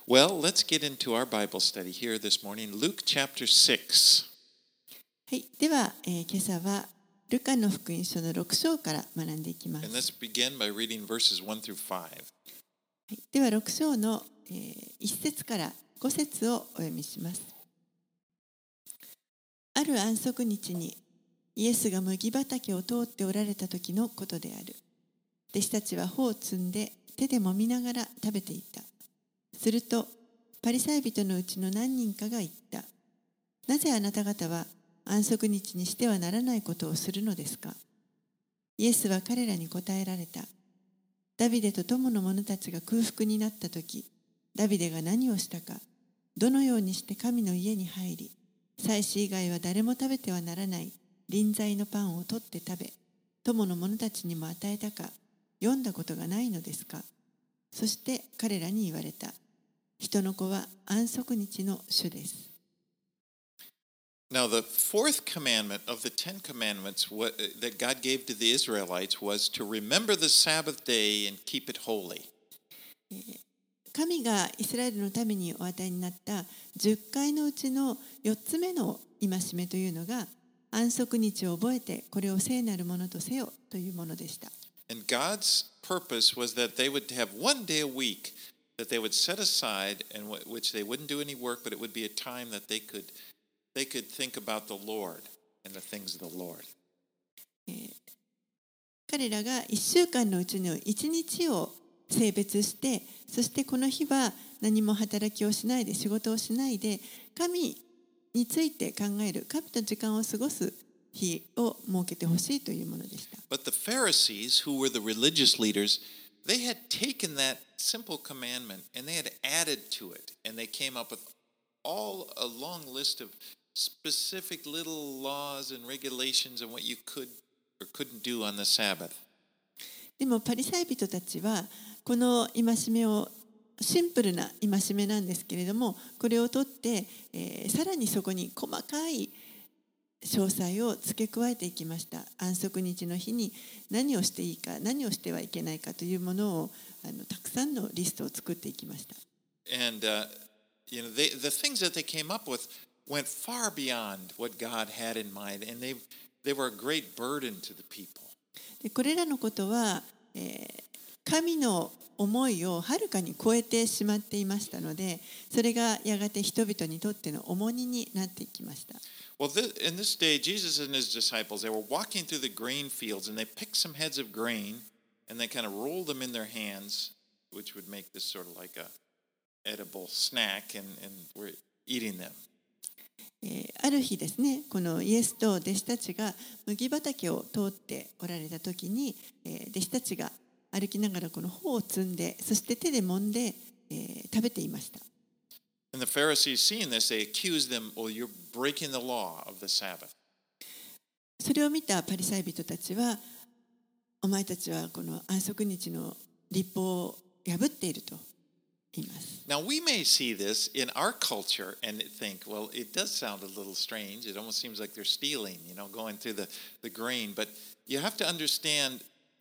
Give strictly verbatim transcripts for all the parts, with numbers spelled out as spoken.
Well, let's get into our Bible study here this morning. Luke chapter six. はい、では、えー今朝はルカの福音書のろく章から学んでいきます。 And let's begin by reading verses one through five. はい、ではろく章の、えー、いち節からご節をお読みします。ある安息日にイエスが麦畑を通っておられた時のことである。弟子たちは穂を摘んで手で揉みながら食べていた。するとパリサイ人のうちの何人かが言った。なぜあなた方は安息日にしてはならないことをするのですか。イエスは彼らに答えられた。ダビデと友の者たちが空腹になったとき、ダビデが何をしたか、どのようにして神の家に入り、祭司以外は誰も食べてはならない臨在のパンを取って食べ、友の者たちにも与えたか、読んだことがないのですか。そして彼らに言われた。人の子は安息日の主です。 Now, the fourth commandment of the Ten Commandments what, that God gave to the Israelites was to remember the Sabbath day and keep it holy. 神がイスラエルのためにお与えになったじゅっかいのうちのよっつめの戒めというのが、安息日を覚えてこれを聖なるものとせよというものでした。 And God's purpose was that they would have one day a week that they would set aside in which they wouldn't do any work, but it would be a time that they could they could think about the Lord and the things of the Lord. 彼らがいっしゅうかんのうちのいちにちを性別して、そしてこの日は何も働きをしないで、仕事をしないで、神について考える、神と時間を過ごす日を設けてほしいというものでした。 But the Pharisees, who were the religious leaders, they had taken that simple commandment and they had added to it, and they came up with all a long list of specific little laws and regulations and what you could or couldn't do on the Sabbath. でもパリサイ人たちはこの戒めを、シンプルな戒めなんですけれども、これを取って、えー、さらにそこに細かい詳細を付け加えていきました。安息日の日に何をしていいか、何をしてはいけないかというものを、あのたくさんのリストを作っていきました。 And uh, you know, they, the things that they came up with went far beyond what God had in mind, and they they were a great burden to the people. でこれらのことは、えー、神の思いをはるかに超えてしまっていましたので、それがやがて人々にとっての重荷になっていきました。 Well, this, in this day, Jesus and his disciples, they were walking through the grain fields, and they picked some heads of grain, and they kind of rolled them in their hands, which would make this sort of like a edible snack, and, and we're eating them. えー、ある日ですね、このイエスと弟子たちが麦畑を通っておられた時に、えー、弟子たちが歩きながらこの穂を摘んで、そして手で揉んで、えー、食べていました。 And the Pharisees, seeing this, they accused them, "Well, you're breaking the law of the Sabbath." それを見たパリサイ人たちは、お前たちはこの安息日の律法を破っていると言います。 Now, we may see this in our culture and think, well, it does sound a little strange. It almost seems like they're stealing, you know, going through the, the grain. But you have to understand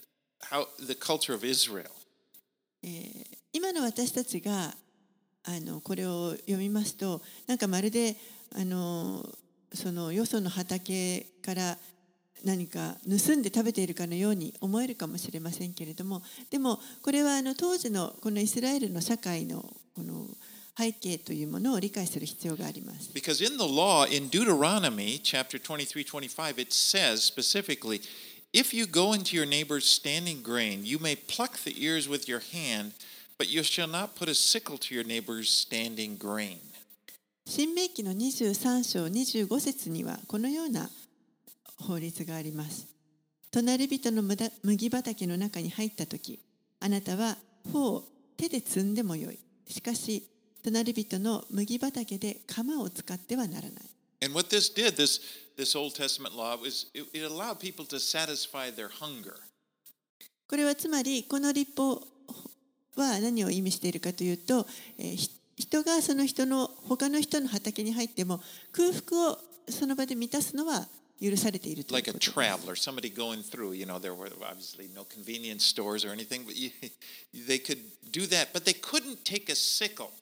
how the culture of Israel. えー、今の私たちがあのこれを読みますと、なんかまるであのそのよその畑から何か盗んで食べているかのように思えるかもしれませんけれども、でもこれはあの当時のこのイスラエルの社会のこの背景というものを理解する必要があります。 Because in the law, in Deuteronomy chapter twenty-three, twenty-five, it says specifically, if you go into your neighbor's standing grain, you may pluck the ears with your hand, but you shall not put a sickle to your neighbor's standing grain. 新明記のにじゅうさん章にじゅうご節にはこのような法律があります。隣人の麦畑の中に入ったとき、あなたは穂を手で摘んでもよい。しかし、隣人の麦畑で鎌を使ってはならない。 And what this did, this, this Old Testament law, was it, it allowed people to satisfy their hunger. これはつまり、この律法は何を意味しているかというと、えー、人がその人の他の人の畑に入っても空腹をその場で満たすのは許されているということです。 Like a traveler, somebody going through, you know, there were obviously no convenience stores or anything, but you, they could do that, but they couldn't take a sickle.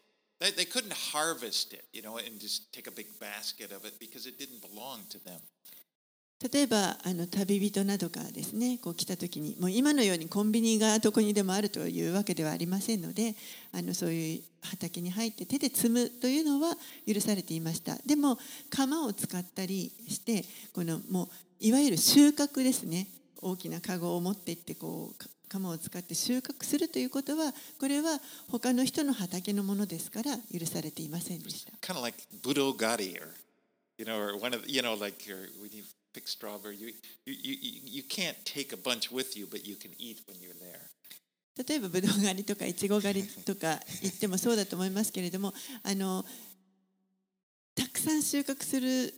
They, they couldn't harvest it, you know, and just take a big basket of it because it didn't belong to them. 例えばあの旅人などがですね、こう来た時にもう今のようにコンビニがどこにでもあるというわけではありませんので、あのそういう畑に入って手で摘むというのは許されていました。でも鎌を使ったりしてこのもういわゆる収穫ですね、大きなカゴを持っていってこう鎌を使って収穫するということは、これは他の人の畑のものですから許されていませんでした。 Kind of like budogari, or you know, or one of you know, like your, when you pick strawberry, you, you you you can't take a bunch with you, but you can eat when you're there. 例えばブドウ狩りとかイチゴ狩りとか言ってもそうだと思いますけれども、あのたくさん収穫する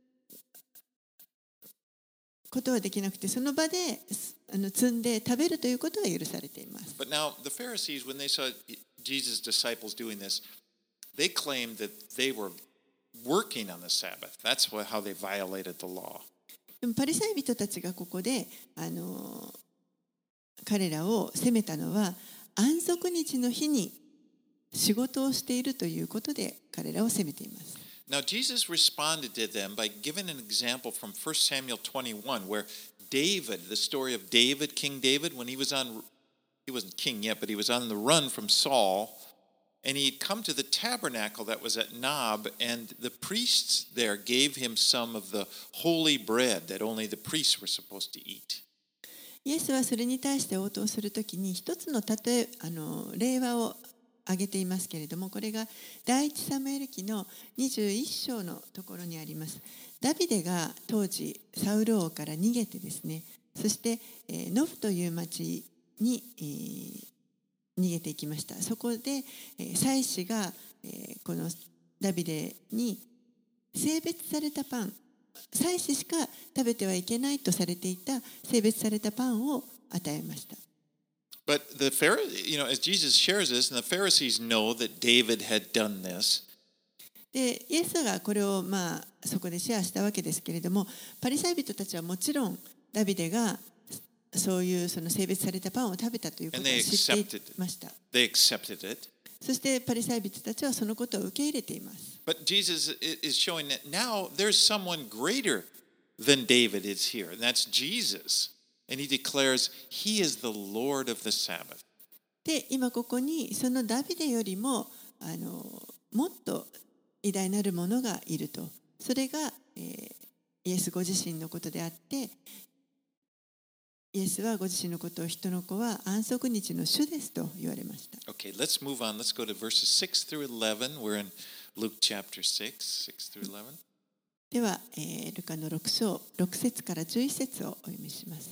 ことはできなくて、その場であの摘んで食べるということは許されています。 But now the Pharisees, when they saw Jesus' disciples doing this, they claimed that they were working on the Sabbath. That's how they violated the law. でもパリサイ人たちがここであの彼らを責めたのは、安息日の日に仕事をしているということで彼らを責めています。 Now Jesus responded to them by giving an example from First Samuel twenty-one, where David, the story of David, King David, when he was on, he wasn't king yet, but he was on the run from Saul, and he'd come to the tabernacle that was at Nob, and the priests there gave him some of the holy bread that only the priests were supposed to eat. イエスはそれに対して応答するときに一つの例えあの例話を挙げていますけれども、これが第一サムエル記のにじゅういっ章のところにあります。ダビデが当時サウル王から逃げてですね、そして、えー、ノフという町に、えー、逃げていきました。そこで、えー、祭司が、えー、このダビデに性別されたパン、祭司しか食べてはいけないとされていた性別されたパンを与えました。 But the Pharisees, you know, as Jesus shares this, and the Pharisees know that David had done this. で、イエスがこれをまあそこでシェアしたわけですけれども、パリサイ人たちはもちろんダビデがそういうその性別されたパンを食べたということを知っていました。 They accepted it. そしてパリサイ人たちはそのことを受け入れています。 But Jesus is showing that now there's someone greater than David is here, and that's Jesus. And he declares he is the Lord of the Sabbath. で、今ここにそのダビデよりもあのもっと偉大なるものがいると。それが、えー、イエスご自身のことであって、イエスはご自身のことを人の子は安息日の主ですと言われました。 Okay, let's move on. Let's go to verses six through eleven. We're in Luke chapter six, six through eleven. では、えー、ルカのろく章ろく節からじゅういち節をお読みします。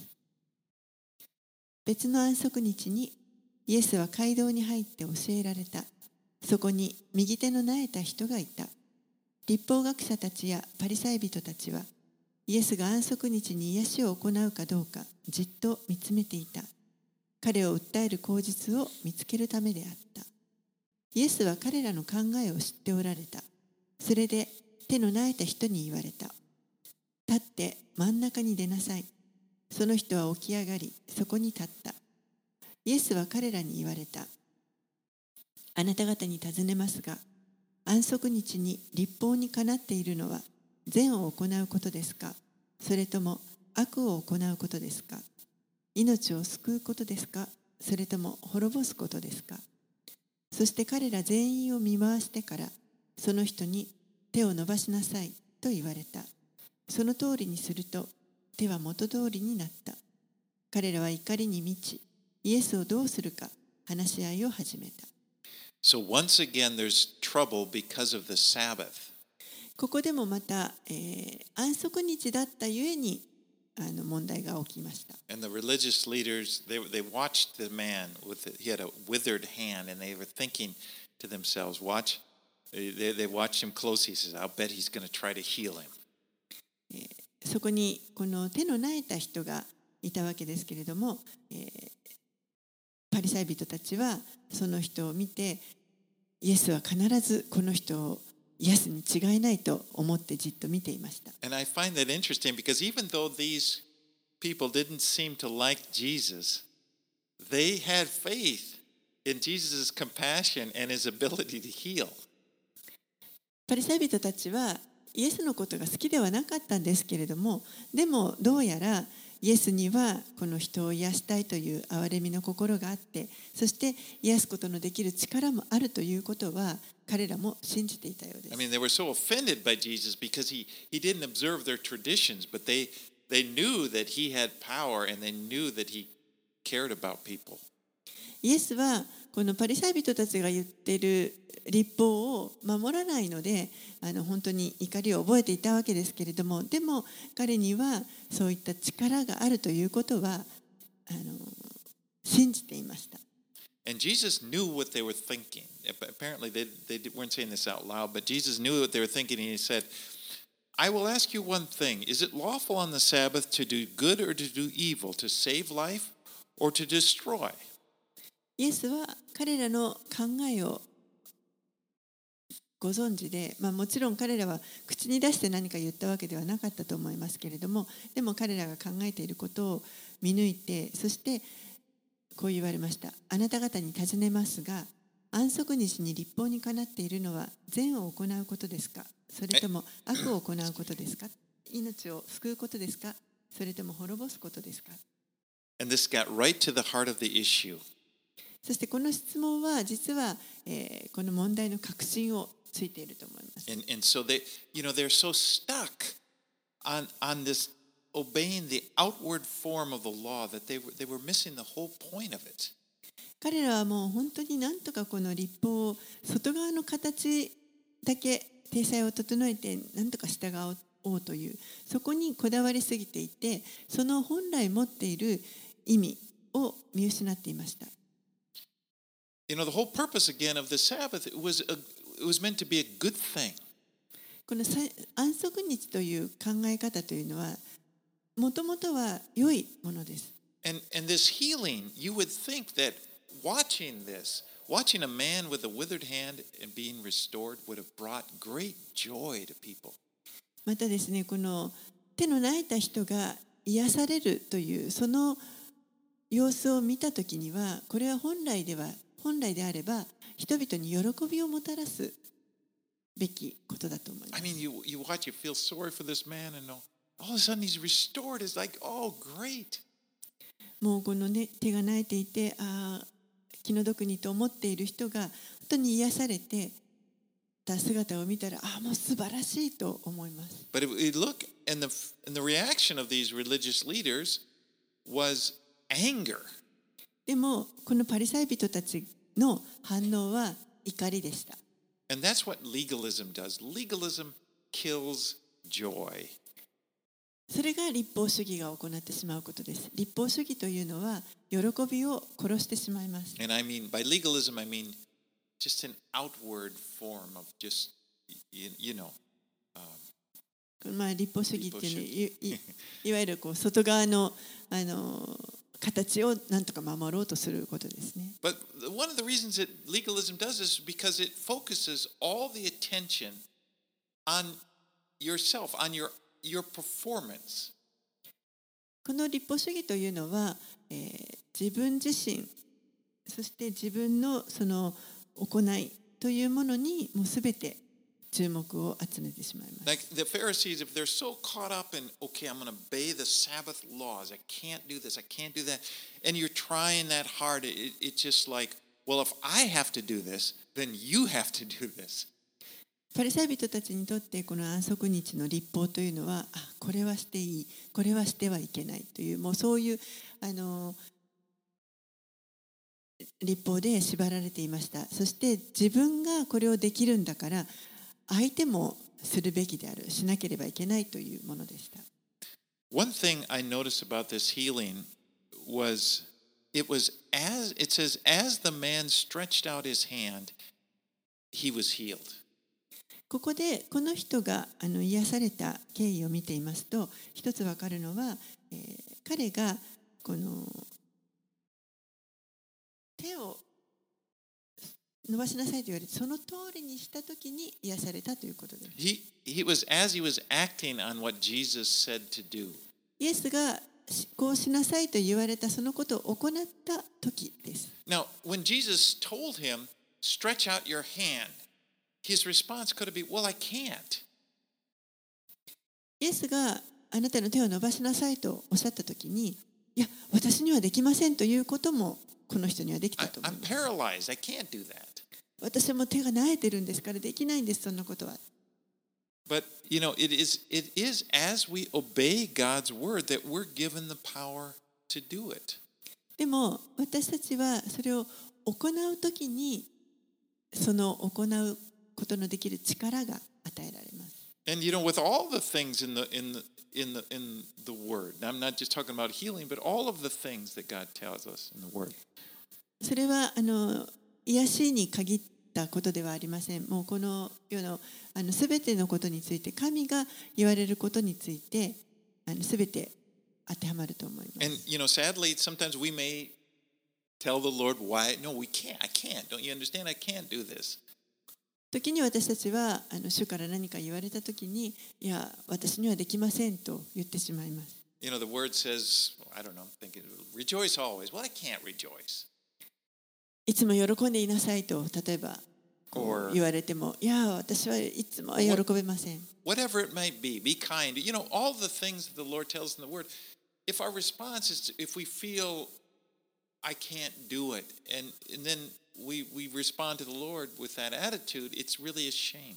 別の安息日にイエスは街道に入って教えられた。そこに右手の苗えた人がいた。律法学者たちやパリサイ人たちはイエスが安息日に癒しを行うかどうかじっと見つめていた。彼を訴える口実を見つけるためであった。イエスは彼らの考えを知っておられた。それで手の苗えた人に言われた。立って真ん中に出なさい。その人は起き上がり、そこに立った。イエスは彼らに言われた。あなた方に尋ねますが、安息日に律法にかなっているのは善を行うことですか、それとも悪を行うことですか。命を救うことですか、それとも滅ぼすことですか。そして彼ら全員を見回してから、その人に手を伸ばしなさいと言われた。その通りにすると、手は元通りになった。彼らは怒りに満ち、イエスをどうするか話し合いを始めた。 So once again, there's trouble because of the Sabbath. ここでもまた、えー、安息日だったゆえにあの問題が起きました。 And the religious leaders, they, they watched the man with the, he had a withered hand, and they were thinking to themselves, watch, they, they watched him closely. He says, I'll bet he's going to try to heal him. そこにこの手の苗えた人がいたわけですけれども、えー、パリサイ人たちはその人を見て、イエスは必ずこの人を癒すに違いないと思ってじっと見ていました。 And I find that interesting because even though these people didn't seem to like Jesus, they had faith in Jesus' compassion and his ability to heal. パリサイ人たちはイエスのことが好きではなかったんですけれども、でもどうやらイエスにはこの人を癒したいという憐れみの心があって、そして癒すことのできる力もあるということは彼らも信じていたようです。 I mean, they were so offended by Jesus because he, he didn't observe their traditions, but they, they knew that he had power and they knew that he cared about people. イエスはこのパリサイ人たちが言っている律法を守らないので、あの本当に怒りを覚えていたわけですけれども、でも彼にはそういった力があるということはあの信じていました。 And Jesus knew what they were thinking. Apparently, they, they weren't saying this out loud, but Jesus knew what they were thinking, and he said, I will ask you one thing. Is it lawful on the Sabbath to do good or to do evil, to save life or to destroy? イエスは彼らの考えをご存知で、まあ、もちろん彼らは口に出して何か言ったわけではなかったと思いますけれども、でも彼らが考えていることを見抜いて、そしてこう言われました。あなた方に尋ねますが、安息日に律法にかなっているのは善を行うことですか、それとも悪を行うことですか、命を救うことですか、それとも滅ぼすことですか。 And this got right to the heart of the issue. そしてこの質問は実は、えー、この問題の核心をついていると思います。 And, and so they, you know, they're so stuck on, on this obeying the outward form of the law that they were, they were missing the whole point of it. 彼らはもう本当になんとかこの律法を外側の形だけ体裁を整えてなんとか従おうという、そこにこだわりすぎていて、その本来持っている意味を見失っていました。 You know, the whole purpose again of the Sabbath, it was a, it was meant to be a good thing. この安息日という考え方というのはもともとは良いものです。 And, and this healing, you would think that watching this, watching a man with a withered hand and being restored would have brought great joy to people. またですね、この手の泣いた人が癒されるというその様子を見たときには、これは本来では本来であれば人々に喜びをもたらすべきことだと思います。 I mean, you, you watch, you feel sorry for this man, and all, all of a sudden he's restored. It's like, oh, great. もうこの、ね、手が泣いていて、あ気の毒にと思っている人が本当に癒されてた姿を見たら、あもう素晴らしいと思います。 But if we look, and the, and the reaction of these religious leaders was anger. でもこのパリサイ人たちの反応は怒りでした。 And that's what legalism does. Legalism kills joy. それが律法主義が行ってしまうことです。律法主義というのは喜びを殺してしまいます。 And I mean, by legalism, I mean just an outward form of just, you, you know. Um, まあ律法主義っていうのい, い, いわゆるこう外側のあの形をなんとか守ろうとすることですね。 But one of the reasons that legalism does this is because it focuses all the attention on yourself, on your, your performance. この律法主義というのは、えー、自分自身、そして自分のその行いというものにもうすべて注目を集めてしまいます。 Like the Pharisees, if they're so caught up in, okay, I'm going to obey the Sabbath laws. I can't do this. I can't do that. And you're trying that hard. It, it's just like, well, if I have to do this, then you have to do this. パリサイ人たちにとってこの安息日の律法というのは、あ、これはしていい、これはしてはいけないという、もうそういうあの律法で縛られていました。そして自分がこれをできるんだから相手もするべきである、しなければいけないというものでした。 One thing I noticed about this healing was it was as it says as the man stretched out his hand, he was healed. ここでこの人があの癒された経緯を見ていますと、一つわかるのは、えー、彼がこの手を伸ばしなさいと言われて、その通りにしたときに癒されたということです。 He, he was as he was acting on what Jesus said to do. イエスがこうしなさいと言われたそのことを行った時です。 Now, when Jesus told him, stretch out your hand, his response could have been, well, I can't. イエスがあなたの手を伸ばしなさいとおっしゃった時に、いや、私にはできませんということもこの人にはできた I, と思い I'm ます。 paralyzed. I can't do that. 私も手が萎えてるんですからできないんです、そんなことは。 But, you know, it is, it is as we obey God's word that we're given the power to do it. でも私たちはそれを行うときにその行うことのできる力が与えられます。 And, you know, with all the things in the, in the, in the, in the word, I'm not just talking about healing, but all of the things that God tells us in the word. それはあの癒しに限ったことではありません。もうこの世のあの全てのことについて神が言われることについてあの全て当てはまると思います。 And, you know, sadly, sometimes we may tell the Lord why, no, we can't, I can't. Don't you understand? I can't do this. 時に私たちはあの主から何か言われたときに、いや、私にはできませんと言ってしまいます。 You know, the word says, I don't know, I'm thinking, rejoice always. Well, I can't rejoice. いつも喜んでいなさいと例えばこう言われても、いや、私はいつも喜べません。 Whatever it might be, be kind. You know, all the things that the Lord tells in the word, if our response is to, if we feel I can't do it, and, and then we, we respond to the Lord with that attitude, it's really a shame.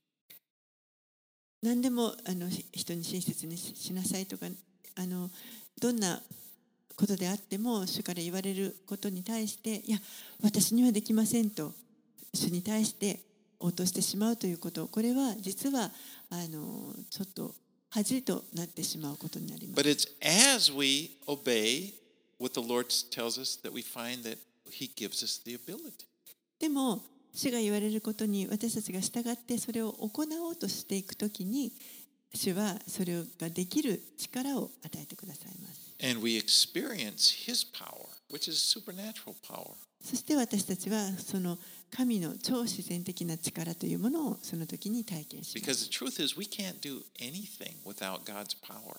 何でもあの人に親切にしなさいとか、あのどんなことであっても主から言われることに対して、いや、私にはできませんと主に対して応答してしまうということ、これは実はあのちょっと恥となってしまうことになります。 But it's as we obey what the Lord tells us that we find that He gives us the ability. でも主が言われることに私たちが従ってそれを行おうとしていくときに、主はそれができる力を与えてくださいます。 And we experience His power, which is supernatural power. そして私たちはその神の超自然的な力というものをその時に体験します。 Because the truth is, we can't do anything without God's power.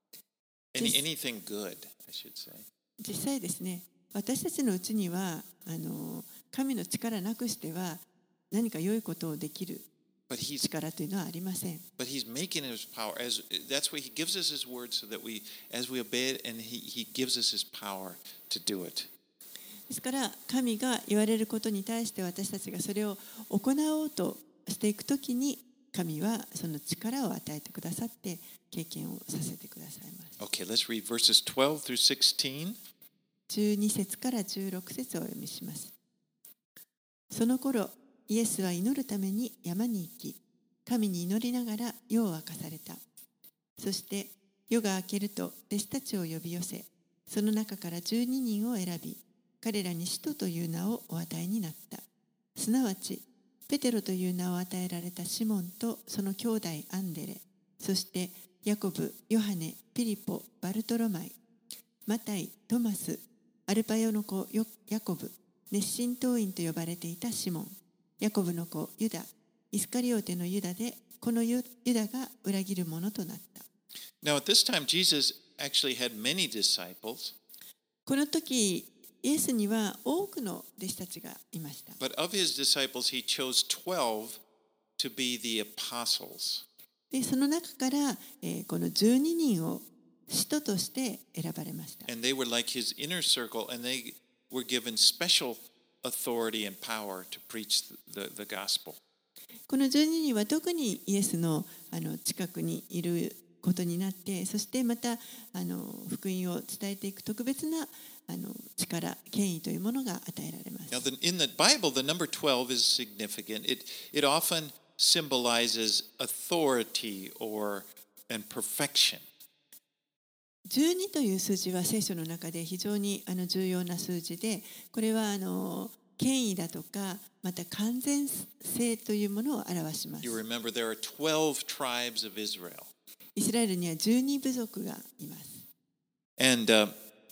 Any, Just- anything good, I should say. 実際ですね、私たちのうちにはあの神の力なくしては何か良いことをできる But He's 力というのはありません。 but He's making His power as that's why He gives us His word so that we, as we obey it, and He He gives us His power to do it. ですから神が言われることに対して私たちがそれを行おうとしていくときに、神はその力を与えてくださって経験をさせてくださいます。 Okay, let's read verses twelve through sixteen. じゅうに節からじゅうろく節をお読みします。その頃イエスは祈るために山に行き、神に祈りながら夜を明かされた。そして夜が明けると弟子たちを呼び寄せ、その中からじゅうににんを選び、彼らに使徒という名をお与えになった。すなわちペテロという名を与えられたシモンとその兄弟アンデレ、そしてヤコブ、ヨハネ、ピリポ、バルトロマイ、マタイ、トマス、アルパヨの子ヤコブ、熱心党員と呼ばれていたシモン、ヤコブの子ユダ、イスカリオテのユダで、このユダが裏切る者となった。 Now, at this time, Jesus actually had many disciples, この時イエスには多くの弟子たちがいました。 but of His disciples, He chose twelve to be the apostles. でその中から、えーこのじゅうににんを使徒として選ばれました。 And they were like His inner circle, and they were given special authority and power to preach the, the gospel. このじゅうににんは特にイエスのあの近くにいることになって、そしてまたあの福音を伝えていく特別なあの力、権威というものが与えられます。 Now, the, in the Bible, the number twelve is significant. It, it often symbolizes authority or and perfection. じゅうにという数字は聖書の中で非常にあの重要な数字で、これはあの権威だとか、また完全性というものを表します。 You remember there are twelve tribes of Israel. イスラエルにはじゅうに部族がいます。 And uh,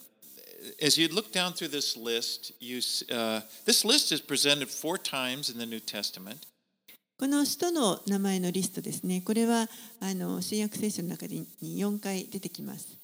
as you look down through this list, you, uh, this list is presented four times in the New Testament. この使徒の名前のリストですね。これはあの新約聖書の中によんかい出てきます。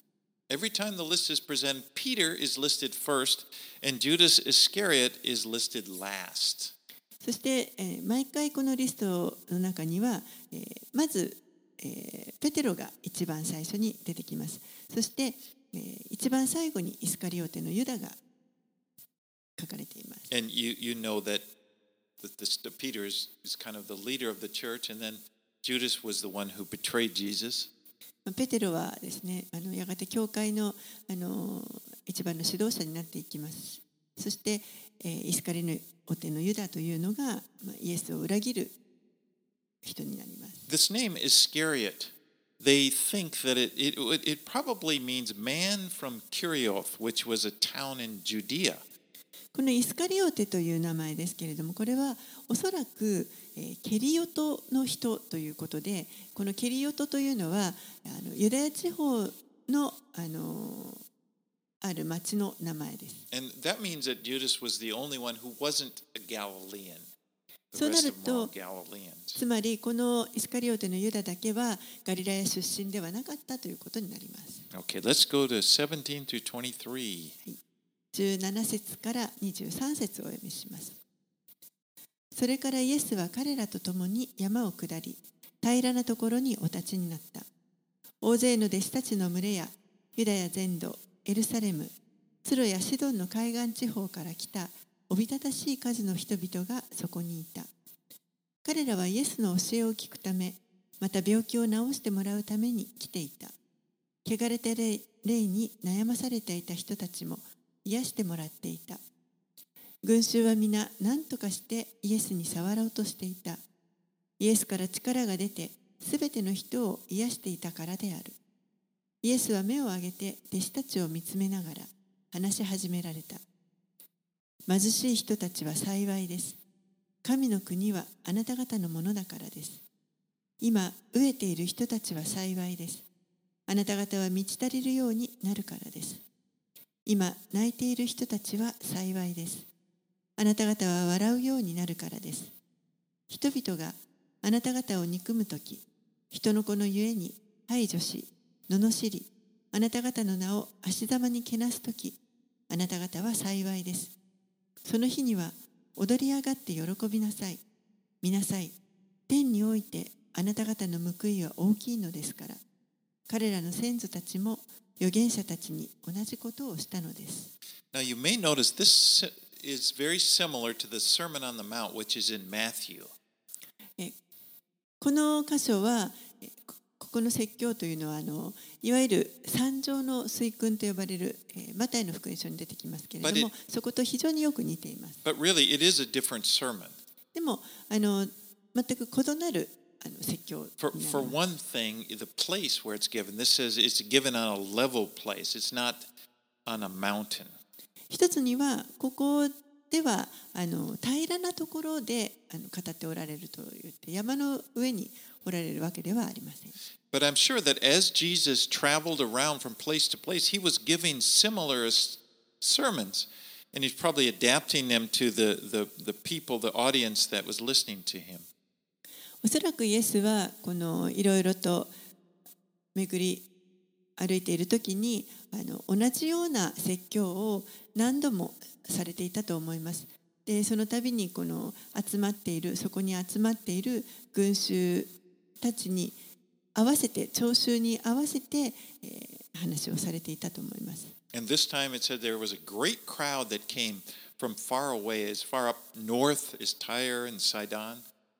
Every time the list is presented, Peter is listed first, and Judas Iscariot is listed last. そして、えー毎回このリストの中には、えーまず、えーペテロが一番最初に出てきます。そして、えー一番最後にイスカリオテのユダが書かれています。 And you, you know that, that this, that Peter is, is kind of the leader of the church, and then Judas was the one who betrayed Jesus. ペテロはですね、あのやがて教会の、あの一番の指導者になっていきます。そして、えーイスカリオテのユダというのが、まあ、イエスを裏切る人になります。 This name Iscariot, they think that it, it, it probably means man from Kerioth, which was a town in Judea. このイスカリオテという名前ですけれども、これはおそらく、えーケリオトの人ということで、このケリオトというのはあのユダヤ地方の、あのある町の名前です。 And that means that Judas was the only one who wasn't a Galilean. The そうな rest る of them were all と、 Galileans. つまりこのイスカリオテのユダだけはガリラヤ出身ではなかったということになります。 Okay, let's go to seventeen through twenty-three. じゅうなな節からにじゅうさん節をお読みします。それからイエスは彼らと共に山を下り、平らなところにお立ちになった。大勢の弟子たちの群れやユダヤ全土、エルサレム、ツロやシドンの海岸地方から来たおびただしい数の人々がそこにいた。彼らはイエスの教えを聞くため、また病気を治してもらうために来ていた。汚れた霊に悩まされていた人たちも癒してもらっていた。群衆は皆何とかしてイエスに触ろうとしていた。イエスから力が出てすべての人を癒していたからである。イエスは目を上げて弟子たちを見つめながら話し始められた。貧しい人たちは幸いです。神の国はあなた方のものだからです。今飢えている人たちは幸いです。あなた方は満ち足りるようになるからです。今泣いている人たちは幸いです。あなた方は笑うようになるからです。人々があなた方を憎むとき、人の子のゆえに排除し、罵り、あなた方の名を足ざまにけなすとき、あなた方は幸いです。その日には踊り上がって喜びなさい。見なさい。天においてあなた方の報いは大きいのですから。彼らの先祖たちも預言者たちに同じことをしたのです。 Now you may notice this is very similar to the Sermon on the Mount, which is in Matthew. えこの箇所は、えこここの説教というのはあのいわゆる三条の水訓と呼ばれる、えーマタイの福音書に出てきますけれど But も it-、 そこと非常によく似ています。 But really, it is a different sermon. でもあの全く異なるあの説教にな For, ります。 for one thing, the place where it's given, this says it's given on a level place. It's not on a mountain. 一つにはここではあの平らなところであの語っておられると言って山の上におられるわけではありません。 But I'm sure that as Jesus traveled around from place to place, he was giving similar s- sermons, and he's probably adapting them to the, the, the people, the audience that was listening to him. おそらくイエスはこのいろいろと巡り歩いている時にあの同じような説教を何度もされていたと思います。で、その度にこの集まっているそこに集まっている群衆たちに合わせて聴衆に合わせて、えー話をされていたと思います。 And this time it said there was a great crowd that came from far away, as far up north as Tyre and Sidon,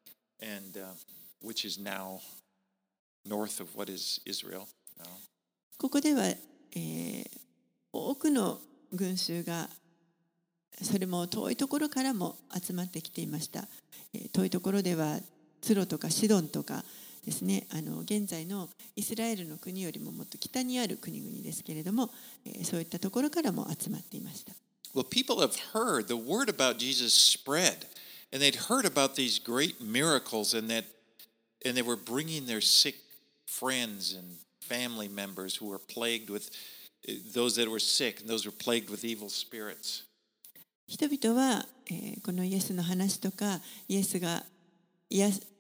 and uh, which is now north of what is Israel now. ここでは、えー多くの群衆がそれも遠いところからも集まってきていました。えー遠いところではツロとかシドンとかですね、あの現在のイスラエルの国よりももっと北にある国々ですけれども、えーそういったところからも集まっていました。 Well, people have heard the word about Jesus spread, and they'd heard about these great miracles, and that, and they were bringing their sick friends and family members who were plagued with those that were sick, and those who were plagued with evil spirits. 人々は、えーこのイエスの話とかイエスが癒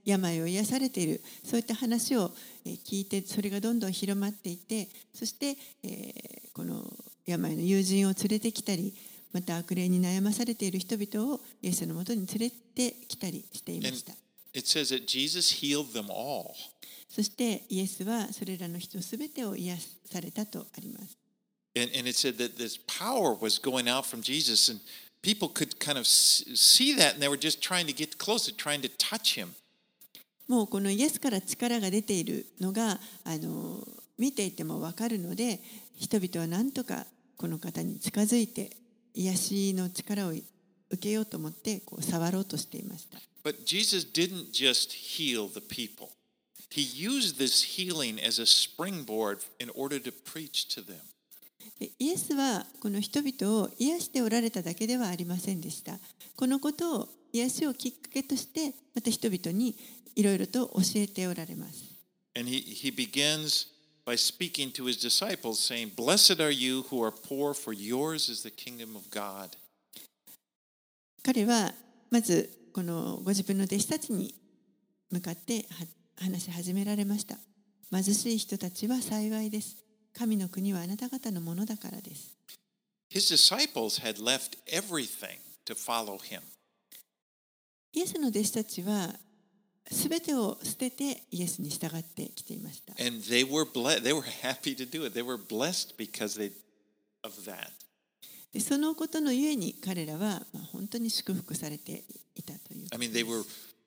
病を癒されている、そういった話を聞いて、それがどんどん広まっていて、そして、えー、この病の友人を連れてきたり、また悪霊に悩まされている人々をイエスのもとに連れてきたりしていました。 It says that Jesus healed them all. そしてイエスはそれらの人すべてを癒されたとあります。 And, and it said that this power was going out from Jesus, and people could kind of see that, and they were just trying to get closer, trying to touch him. もうこのイエスから力が出ているのがあの見ていても分かるので、人々は何とかこの方に近づいて癒しの力を受けようと思ってこう触ろうとしていました。 But Jesus didn't just heal the people. He used this healing as a springboard in order to preach to them. イエスはこの人々を癒しておられただけではありませんでした。このことを癒しをきっかけとしてまた人々にいろいろと教えておられます。 And he, he begins by speaking to his disciples, saying, Blessed are you who are poor, for yours is the kingdom of God. 彼はまずこのご自分の弟子たちに向かって話し始められました。貧しい人たちは幸いです。神の国はあなた方のものだからです。 His disciples had left everything to follow him. イエスの弟子たちはすべてを捨ててイエスに従ってきていました。 And they were blessed. They were happy to do it. They were blessed because they of that. でそのことのゆえに彼らはまあ本当に祝福されていたという。 I mean, they were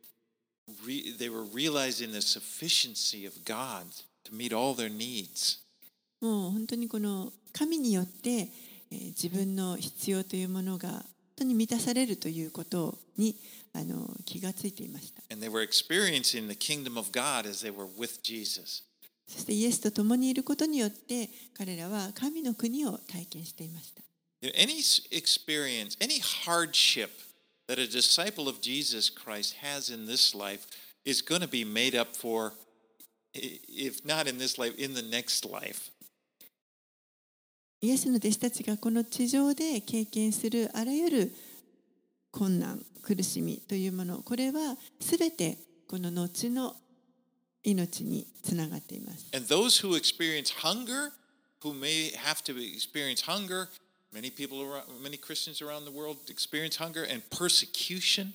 re, they were realizing the sufficiency of God to meet all their needs. もう本当にこの神によって、えー、自分の必要というものが本当に満たされるということにあの気がついていました。 And they were experiencing the kingdom of God as they were with Jesus. そしてイエスと共にいることによって彼らは神の国を体験していました。 Any experience, any hardship that a disciple of Jesus Christ has in this life is going to be made up for, if not in this life, in the next life. イエスの弟子たちがこの地上で経験するあらゆる困難、苦しみというもの、これはすべてこの後の命につながっています。 And those who experience hunger, who may have to experience hunger, many people around, many Christians around the world experience hunger and persecution.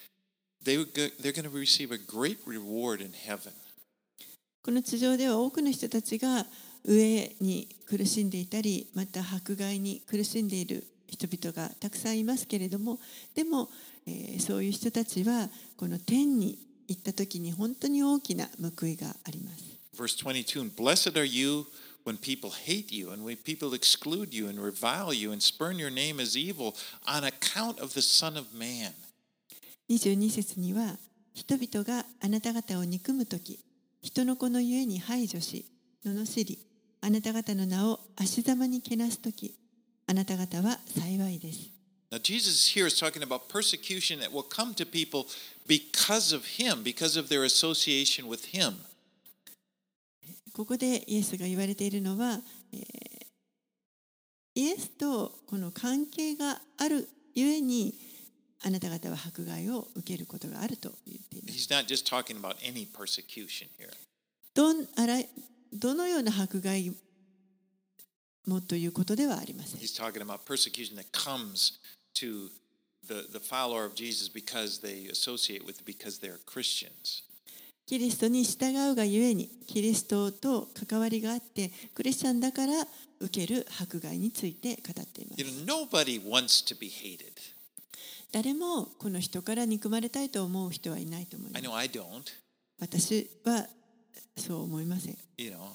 They they're going to receive a great reward in heaven. この地上では多くの人たちが飢えに苦しんでいたり、また迫害に苦しんでいる人々がたくさんいますけれども、でも、えー、そういう人たちはこの天に行った時に本当に大きな報いがあります。 Verse twenty-two, Blessed are you when people hate you and when people exclude you and revile you and spurn your name as evil on account of the Son of Man. にじゅうに節には、人々があなた方を憎むとき、人の子のゆえに排除し、罵り、あなた方の名を足ざまにけなすとき、あなた方は幸いです。 Now, Jesus here is talking about persecution that will come to people because of him, because of their association with him. ここでイエスが言われているのは、えー、イエスとこの関係があるゆえに、あなた方は迫害を受けることがあると言っています。 He's not just talking about any persecution here. どんあらどのような迫害もということではありません。 He's talking about persecution that comes to the, the follower of Jesus because they associate with, because they're Christians. キリストに従うがゆえに、キリストと関わりがあって、クリスチャンだから受ける迫害について語っています。 You know, nobody wants to be hated. 誰もこの人から憎まれたいと思う人はいないと思います。 I know I don't. 私はそう思いません。 You know,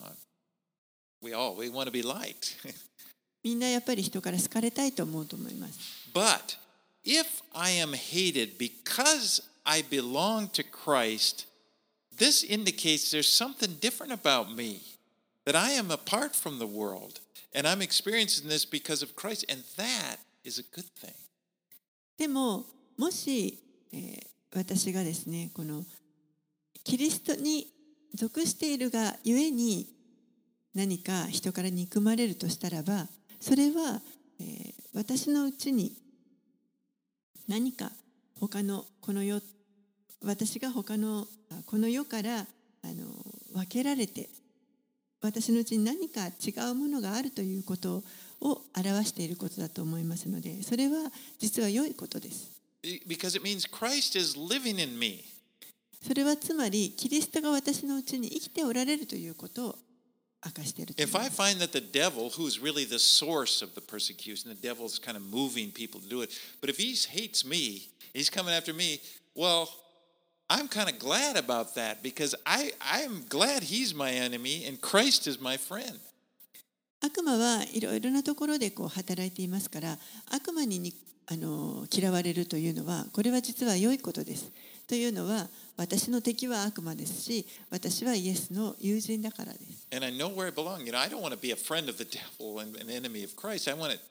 we all we want to be liked. みんなやっぱり人から好かれたいと思うと思います。 But if I am hated because I belong to Christ, this indicates there's something different about me, that I am apart from the world, and I'm experiencing this because of Christ, and that is a good thing. でも、もし、えー、私がですね、このキリストに属しているがゆえに何か人から憎まれるとしたらば、それは、えー、私のうちに何か他のこの世私が他のこの世からあの分けられて、私のうちに何か違うものがあるということを表していることだと思いますので、それは実は良いことです。 Because it means Christ is living in me. それはつまりキリストが私のうちに生きておられるということを明かしていると思い If ま I す。 find that the devil, who's really the source of the persecution, the devil's kind of moving people to do it, but if he hates me, he's coming after me, well, I'm kind of glad about that because I, I'm glad he's my enemy and Christ is my friend. 悪魔はいろいろなところでこう働いていますから、悪魔ににあの嫌われるというのは、これは実は良いことです。というのは、私の敵は悪魔ですし、私はイエスの友人だからです。 And I know where I belong. You know, I don't want to be a friend of the devil and an enemy of Christ. I want to,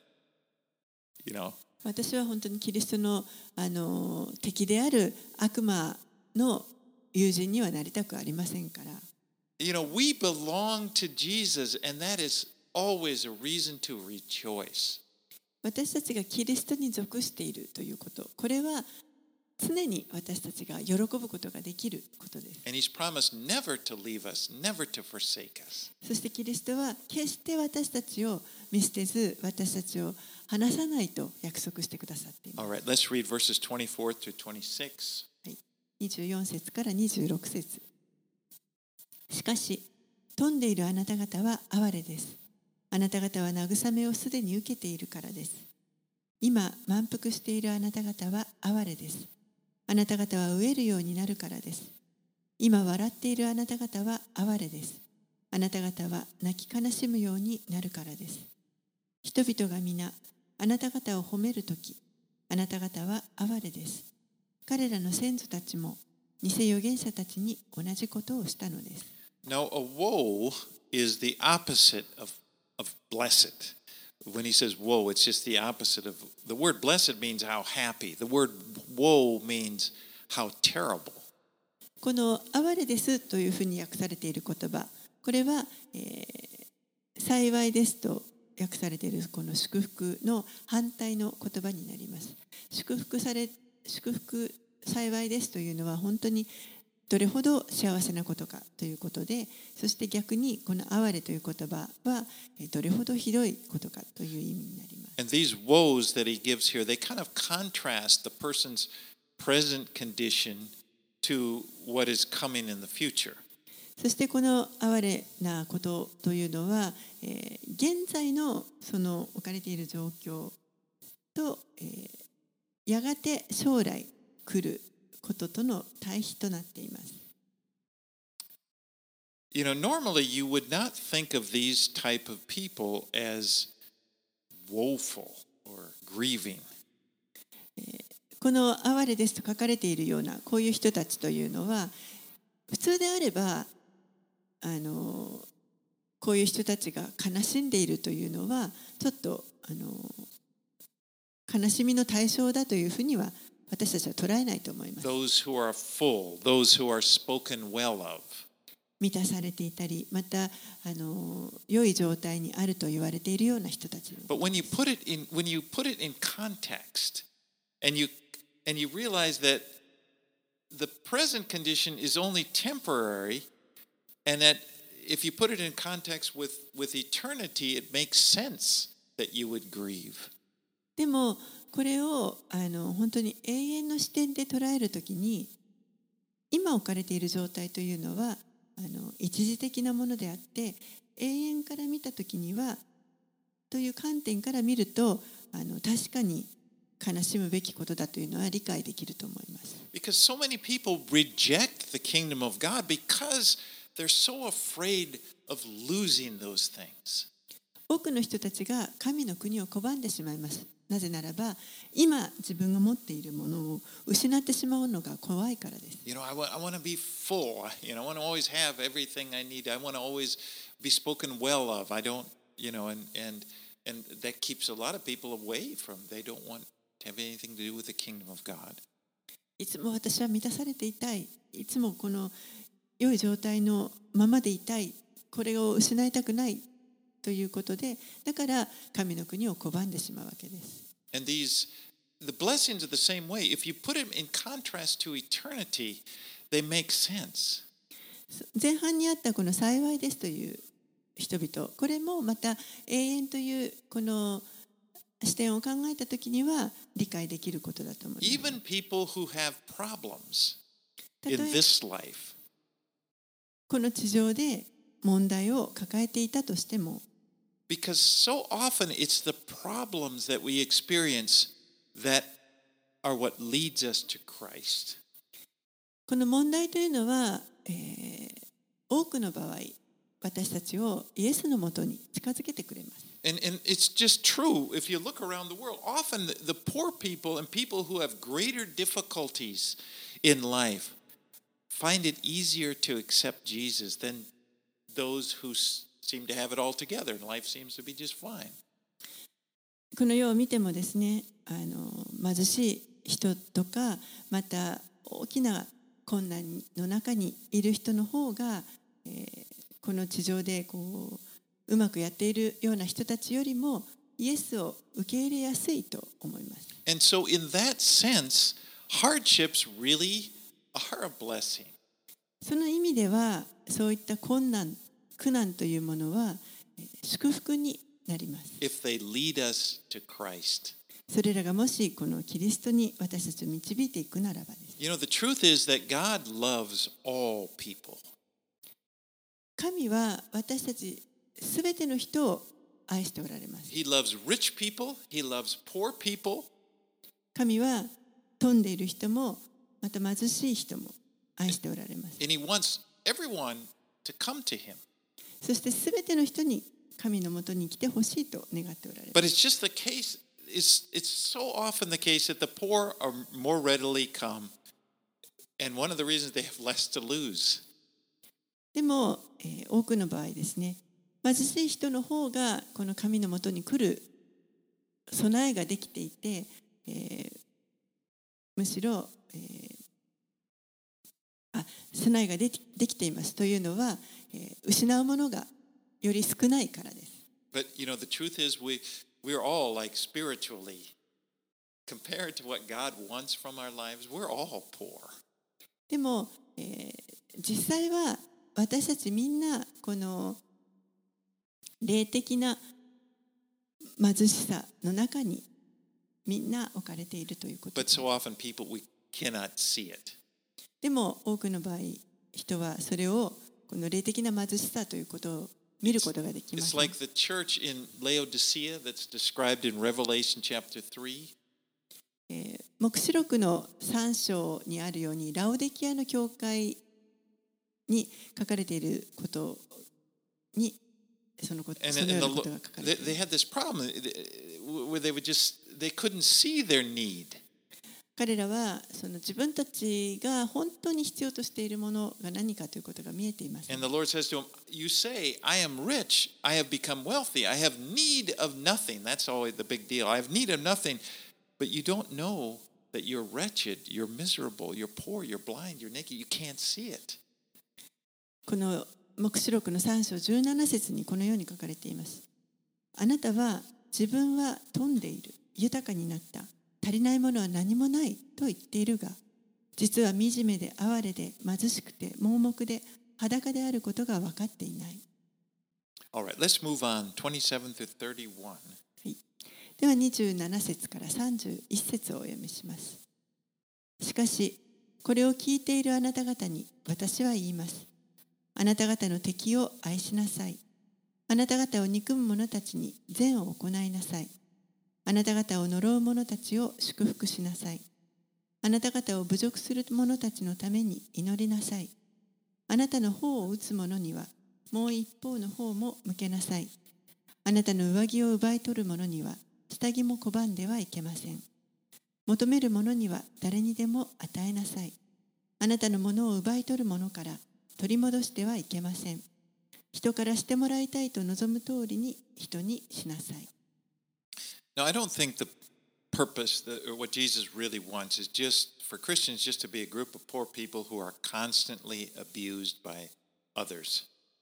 you know. 私は本当にキリストの、あの敵である悪魔の友人にはなりたくありませんから。 You know, we belong to Jesus, and that is always a reason to rejoice. 私たちがキリストに属しているということ、これは常に私たちが喜ぶことができることです。 And he's promised never to leave us, never to forsake us. そしてキリストは決して私たちを見捨てず、私たちを離さないと約束してくださっています。 All right, let's read verses twenty-four through twenty-six. はい、にじゅうよん節からにじゅうろく節。しかし、富んでいるあなた方は哀れです。あなた方は慰めをすでに受けているからです。今、満腹しているあなた方は哀れです。あなた方は飢えるようになるからです。今、笑っているあなた方は哀れです。あなた方は泣き悲しむようになるからです。人々が皆、あなた方を褒めるとき、あなた方は哀れです。彼らの先祖たちも、偽預言者たちに同じことをしたのです。 Now, a woe is the opposite of, of blessed. When he says woe, it's just the opposite of the word blessed means how happy. The word woe means how terrible. この哀れですというふうに訳されている言葉、これは、えー、幸いですと訳されているこの祝福の反対の言葉になります。祝福され、祝福幸いですというのは本当にどれほど幸せなことかということで、そして逆にこの哀れという言葉はどれほどひどいことかという意味になります。 And these woes that he gives here, they kind of contrast the person's present condition to what is coming in the future. そしてこの哀れなことというのは、えー、現在のその置かれている状況と、えー、やがて将来来ることとの対比となっています。 You know, normally you would not think of these type of people as woeful or grieving. この哀れですと書かれているようなこういう人たちというのは、普通であればあのこういう人たちが悲しんでいるというのはちょっとあの悲しみの対象だというふうには私たちは捉えないと思います。 Those who are full, those who are spoken well of. 満たされていたり、またあの良い状態にあると言われているような人たち。 But when you put it in, when you put it in context, and you and you realize that the present condition is only temporary, and that if you put it in context with with eternity, it makes sense that you would grieve. でもこれをあの本当に永遠の視点で捉えるときに、今置かれている状態というのはあの一時的なものであって、永遠から見たときにはという観点から見ると、あの確かに悲しむべきことだというのは理解できると思います。 Because so many people reject the kingdom of God because they're so afraid of losing those things. 多くの人たちが神の国を拒んでしまいます。なぜならば、今自分が持っているものを失ってしまうのが怖いからです。 You know, I want, I want to be full. You know, I want to always have everything I need. I want to always be spoken well of. I don't, you know, and and and that keeps a lot of people away from. They don't want to have anything to do with the kingdom of God. いつも私は満たされていたい。いつもこの良い状態のままでいたい。これを失いたくない。ということで、だから神の国を拒んでしまうわけです。 And these the blessings are the same way. If you put them in contrast to eternity, they make sense. 前半にあったこの幸いですという人々、これもまた永遠というこの視点を考えたときには理解できることだと思います。 Even people who have problems in this life. この地上で問題を抱えていたとしても、 Because so often it's the problems that we experience that are what leads us to Christ. この問題というのは、えー、多くの場合、私たちをイエスのもとに近づけてくれます。 And, and it's just true. If you look around the world, often the, the poor people and people who have greater difficulties in life find it easier to accept Jesus than those who seem to have it all together and life seems to be just fine. この世を見てもですね、あの貧しい人とか、また大きな困難の中にいる人の方が、えー、この地上でこううまくやっているような人たちよりもイエスを受け入れやすいと思います。 And so in that sense, hardships really are a blessing. その意味では、そういった困難、苦難というものは祝福になります。 If they lead us to Christ. それらがもしこのキリストに私たちを導いていくならばです。 You know, the truth is that God loves all people. 神は私たちすべての人を愛しておられます。 He loves rich people, he loves poor people. 神は富んでいる人もまた貧しい人も愛しておられます。 And he wants everyone to come to him. そしてすべての人に神のもとに来てほしいと願っておられます。 But it's just the case, it's, it's so often the case that the poor are more readily come. And one of the reasons they have less to lose. でも、えー、多くの場合ですね、貧しい人の方がこの神のもとに来る備えができていて、えー、むしろ、えー、あ備えができ、できていますというのは、えー、失うものがより少ないからです。 But you know, the truth is we, we're all like spiritually, compared to what God wants from our lives, we're all poor. でも、えー、実際は私たちみんなこの霊的な貧しさの中にみんな置かれているということです。 But so often people, we cannot see it. でも多くの場合、人はそれをこの霊的な貧しさということを見ることができま It's す。 like the church in Laodicea that's described in Revelation chapter three. えー、黙示録のさん章にあるように、ラオデキアの教会に書かれていることに、そのこと、そのようなことが書かれている。 They had this problem where they would just, they couldn't see their need. 彼らはその自分たちが本当に必要としているものが何かということが見えています。 And the Lord says to him, you say, I am rich, I have become wealthy, I have need of nothing. That's always the big deal. I have need of nothing, but you don't know that you're wretched, you're miserable, you're poor, you're blind, you're naked, you can't see it. この黙示録のさん章じゅうなな節にこのように書かれています。あなたは自分は富んでいる、豊かになった。足りないものは何もないと言っているが、実は惨めで哀れで貧しくて盲目で裸であることが分かっていない。 All right, let's move on. twenty-seven through thirty-one. はい、ではにじゅうなな節からさんじゅういち節をお読みします。しかし、これを聞いているあなた方に私は言います。あなた方の敵を愛しなさい。あなた方を憎む者たちに善を行いなさい。あなた方を呪う者たちを祝福しなさい。あなた方を侮辱する者たちのために祈りなさい。あなたの方を打つ者にはもう一方の方も向けなさい。あなたの上着を奪い取る者には下着も拒んではいけません。求める者には誰にでも与えなさい。あなたのものを奪い取る者から取り戻してはいけません。人からしてもらいたいと望む通りに人にしなさい。 Now, I don't think the purpose, that, or what Jesus really wants, is just for Christians just to be a group of poor people who are constantly abused by others.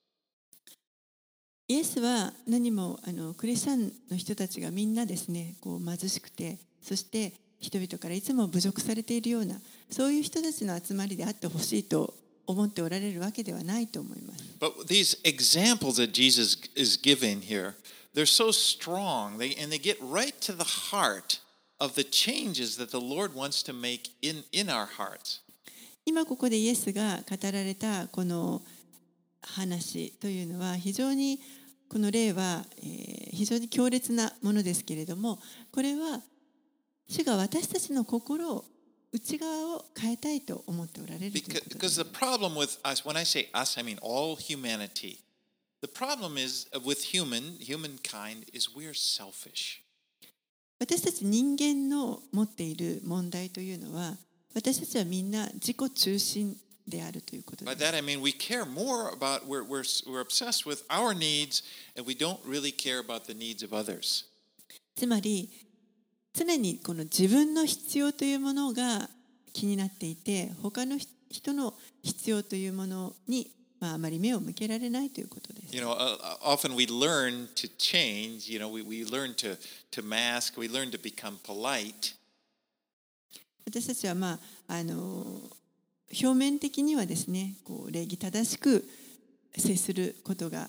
イエスは何もあのクリスチャンの人たちがみんなですね、こう貧しくて、そして人々からいつも侮辱されているような、そういう人たちの集まりであってほしいと思っておられるわけではないと思います。 But these examples that Jesus is giving here, they're so strong, they, and they get right to the heart of the changes that the Lord wants to make in, in our hearts. 今ここでイエスが語られたこの話というのは非常にこの例は、えー、非常に強烈なものですけれども、これは主が私たちの心を内側を変えたいと思っておられるということです。 Because the problem with us, when I say us, I mean all humanity. The problem is with human, humankind, is we're selfish. 私たち人間の持っている問題というのは、私たちはみんな自己中心であるということです。 By that I mean we care more about, we're, we're, we're obsessed with our needs and we don't really care about the needs of others. つまり、常にこの自分の必要というものが気になっていて、他の人の必要というものに、まあ、あまり目を向けられないということです。 You know, uh, often we learn to change, you know, we, we learn to, to mask, we learn to become polite. 私たちは、まあ、あの表面的にはですね、こう礼儀正しく接することが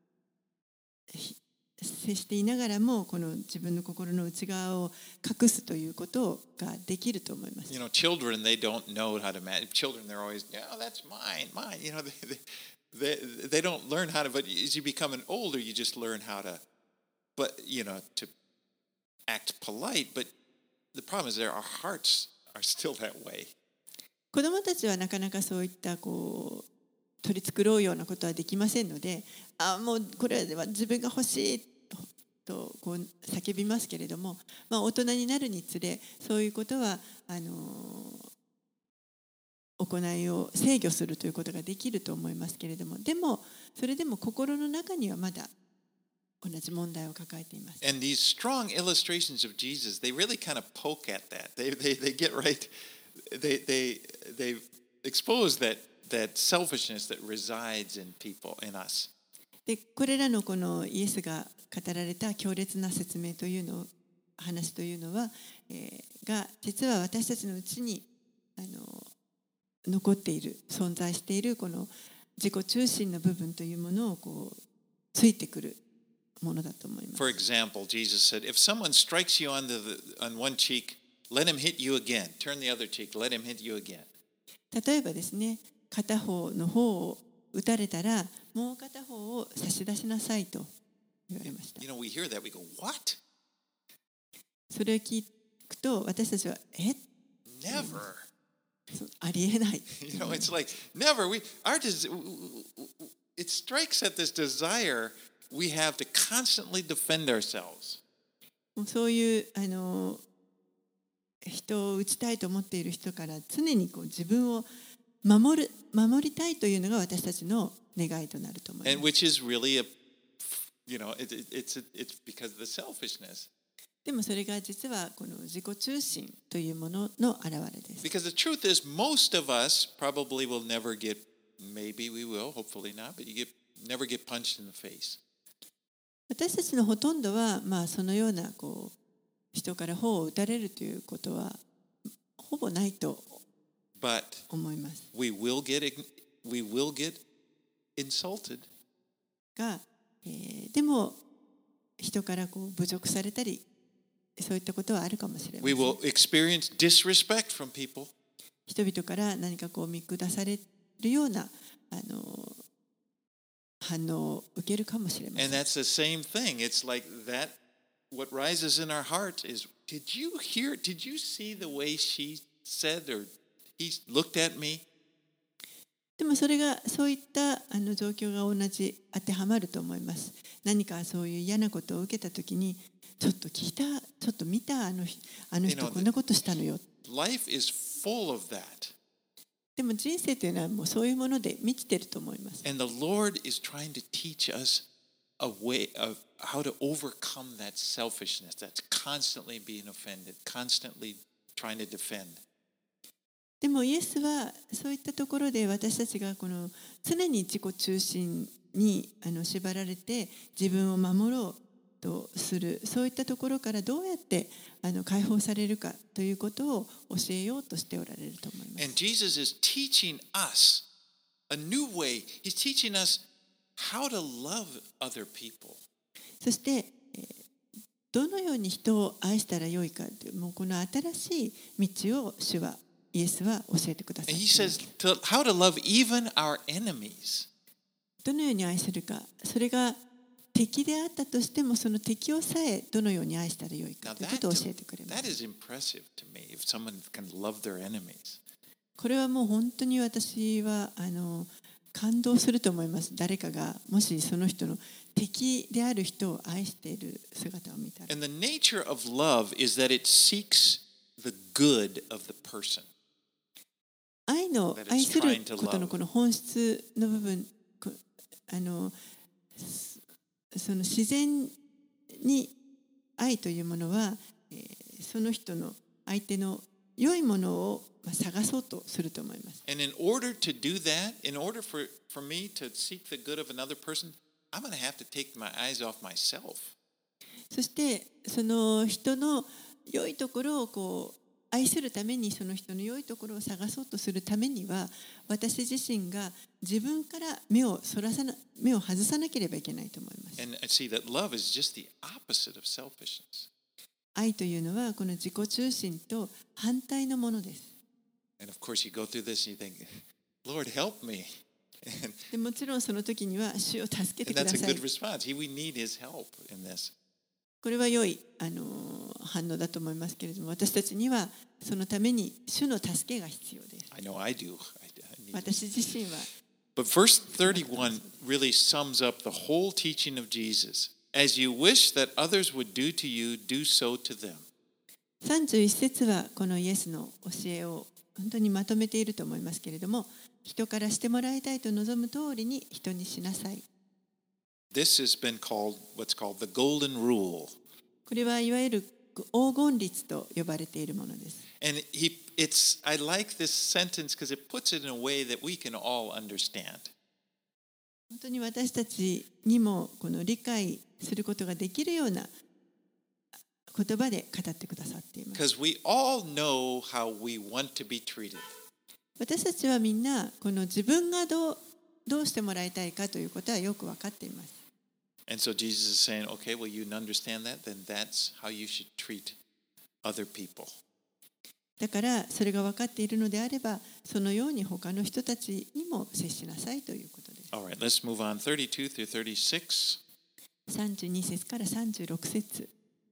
接していながらも、この自分の心の内側を隠すということができると思います。 You know, children, they don't know how to manage. Children, they're always, yeah, that's mine, mine. You know, they, they, they, they don't learn how to, but as you become an older, you just learn how to, but, you know, to act polite. But the problem is there, our hearts are still that way. 子どもたちはなかなかそういったこう取り繕うようなことはできませんので、あもうこれは自分が欲しいとこう叫びますけれども、まあ、大人になるにつれそういうことはあの行いを制御するということができると思いますけれども、でもそれでも心の中にはまだ同じ問題を抱えています。 And these strong illustrations of Jesus, they really kind of poke at that. They, they, they get right, they, they, they expose that, that selfishness that resides in people, in us. でこれらのこのイエスが語られた強烈な説明というの話というのは、えー、が実は私たちのうちにあの残っている存在しているこの自己中心の部分というものをこうついてくるものだと思います。 For example, Jesus said, if someone strikes you on, the, on one cheek, let him hit you again. Turn the other cheek, let him hit you again. 例えばですね、片方の方を打たれたらもう片方を差し出しなさいと言われました。 You know, we hear that, we go, what? それを聞くと私たちはえ Never. ありえない。 You know, it's like never. We our des- it strikes at this desire we have to constantly defend ourselves. そういうあの人を打ちたいと思っている人から常にこう自分を守る守りたいというのが私たちの願いとなると思います。 And which is really a, you know, it, it, it's it's because of the selfishness. でもそれが実はこの自己中心というものの表れです。 Because the truth is, most of us probably will never get, maybe we will, hopefully not, but you get never get punched in the face. 私たちのほとんどは、まあ、そのようなこう人から砲を撃たれるということはほぼないと思います。 But we will get, we will get insulted. が、えー、でも人からこう侮辱されたりそういったことはあるかもしれません。 We will experience disrespect from people. 人々から何かこう見下されるようなあの反応を受けるかもしれません。 And that's the same thing. It's like that. What rises in our hearts is, did you hear? Did you see the way she said or he looked at me? でもそれがそういったあの状況が同じ当てはまると思います。何かそういう嫌なことを受けたときに、ちょっと聞いた、ちょっと見た、あのあの人こんなことしたのよ。 Life is full of that. でも人生というのはもうそういうもので満ちていると思います。 And the Lord is trying to teach us a way of how to overcome that selfishness that's constantly being offended, constantly trying to defend. でもイエスはそういったところで私たちがこの常に自己中心にあの縛られて自分を守ろうとする、そういったところからどうやってあの解放されるかということを教えようとしておられると思います。 And Jesus is teaching us a new way. He's teaching us how to love other people. そして、えーどのように人を愛したらよいかという、もうこの新しい道を主はイエスは教えてくださってい And ま he す。 says to, how to love even our enemies. どのように愛するか、それが敵であったとしてもその敵をさえどのように愛したらよい Now かというこ that, とを教えてくれま that す。 is impressive to me if someone can love their enemies. これはもう本当に私はあの感動すると思います。誰かがもしその人の敵である人を愛している姿を見たら。 And the nature of love is that it seeks the good of the person. 愛の that it's 愛する trying to ことの love. この本質の部分、こあのその自然に愛というものは、えーその人の相手の良いものをまあ探そうとすると思います。 And in order to do that, in order for, for me to seek the good of another person, I'm going to have to take my eyes off myself. そしてその人の良いところをこう愛するために、その人の良いところを探そうとするためには、私自身が自分から目をそらさな目を外さなければいけないと思います。 And I see that love is just the opposite of selfishness. 愛というのはこの自己中心と反対のものです。 And of course, you go through this and you think, Lord, help me. And, でもちろんその時には主を助けて and くだ that's a さい。 good response. He, we need his help in this. これは良いあの反応だと思いますけれども、私たちにはそのために主の助けが必要です。 I know I do. I, I need it. 私自身は But verse thirty-one really sums up the whole teaching of Jesus. As you wish that others would do to you, do so to them. さんじゅういち節はこのイエスの教えを本当にまとめていると思いますけれども、人からしてもらいたいと望む通りに人にしなさい。 This has been called what's called the golden rule. これはいわゆる黄金律と呼ばれているものです。 And he, it's, I like this sentence because it puts it in a way that we can all understand. 本当に私たちにもこの理解することができるような言葉で語ってくださっています。 Because we all know how we want to be treated. 私たちはみんなこの自分がどう、どうしてもらいたいかということはよく分かっています。 And so Jesus is saying, okay, well, you understand that, then that's how you should treat other people. だからそれが分かっているのであれば、そのように他の人たちにも接しなさいということです。 All right, let's move on. thirty-two through thirty-six. さんじゅうに節からさんじゅうろく節。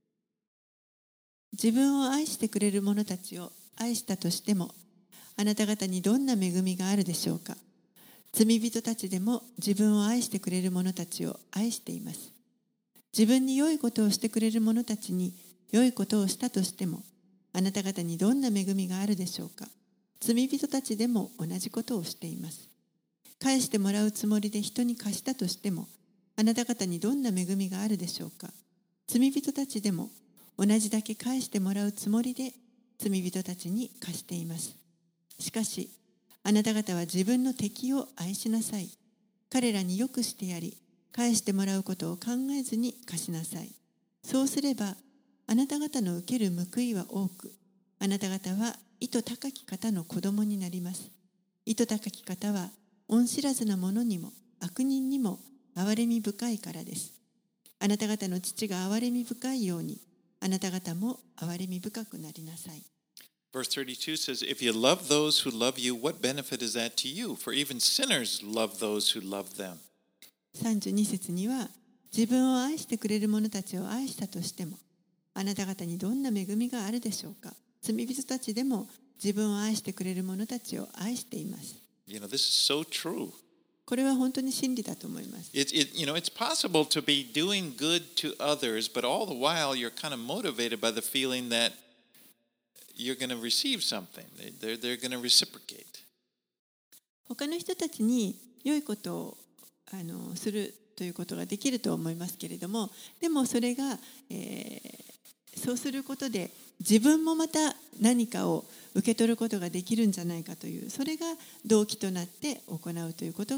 自分を愛してくれる者たちを愛したとしても、あなた方にどんな恵みがあるでしょうか。罪人たちでも自分を愛してくれる者たちを愛しています。自分に良いことをしてくれる者たちに良いことをしたとしても、あなた方にどんな恵みがあるでしょうか。罪人たちでも同じことをしています。返してもらうつもりで人に貸したとしても、あなた方にどんな恵みがあるでしょうか。罪人たちでも同じだけ返してもらうつもりで罪人たちに貸しています。しかし、あなた方は自分の敵を愛しなさい。彼らによくしてやり、返してもらうことを考えずに貸しなさい。そうすれば、あなた方の受ける報いは多く、あなた方は意図高き方の子供になります。意図高き方は、恩知らずな者にも悪人にも憐れみ深いからです。あなた方の父が憐れみ深いように、あなた方も憐れみ深くなりなさい。 Verse thirty-two says, If you love those who love you, what benefit is that to you? For even sinners love those who love them. さんじゅうに節には、自分を愛してくれる者たちを愛したとしても、あなた方にどんな恵みがあるでしょうか。罪人たちでも自分を愛してくれる者たちを愛しています。 You know, this is so true. これは本当に真理だと思います。 It, it, you know, it's possible to be doing good to others, but all the while you're kind of motivated by the feeling that you're going to receive something. They're, they're going to reciprocate. 他の人たちに良いことをあのするということができると思いますけれども、でもそれが、えー、そうすることで自分もまた何かを受け取ることができるんじゃないかという、それが動機となって行うということが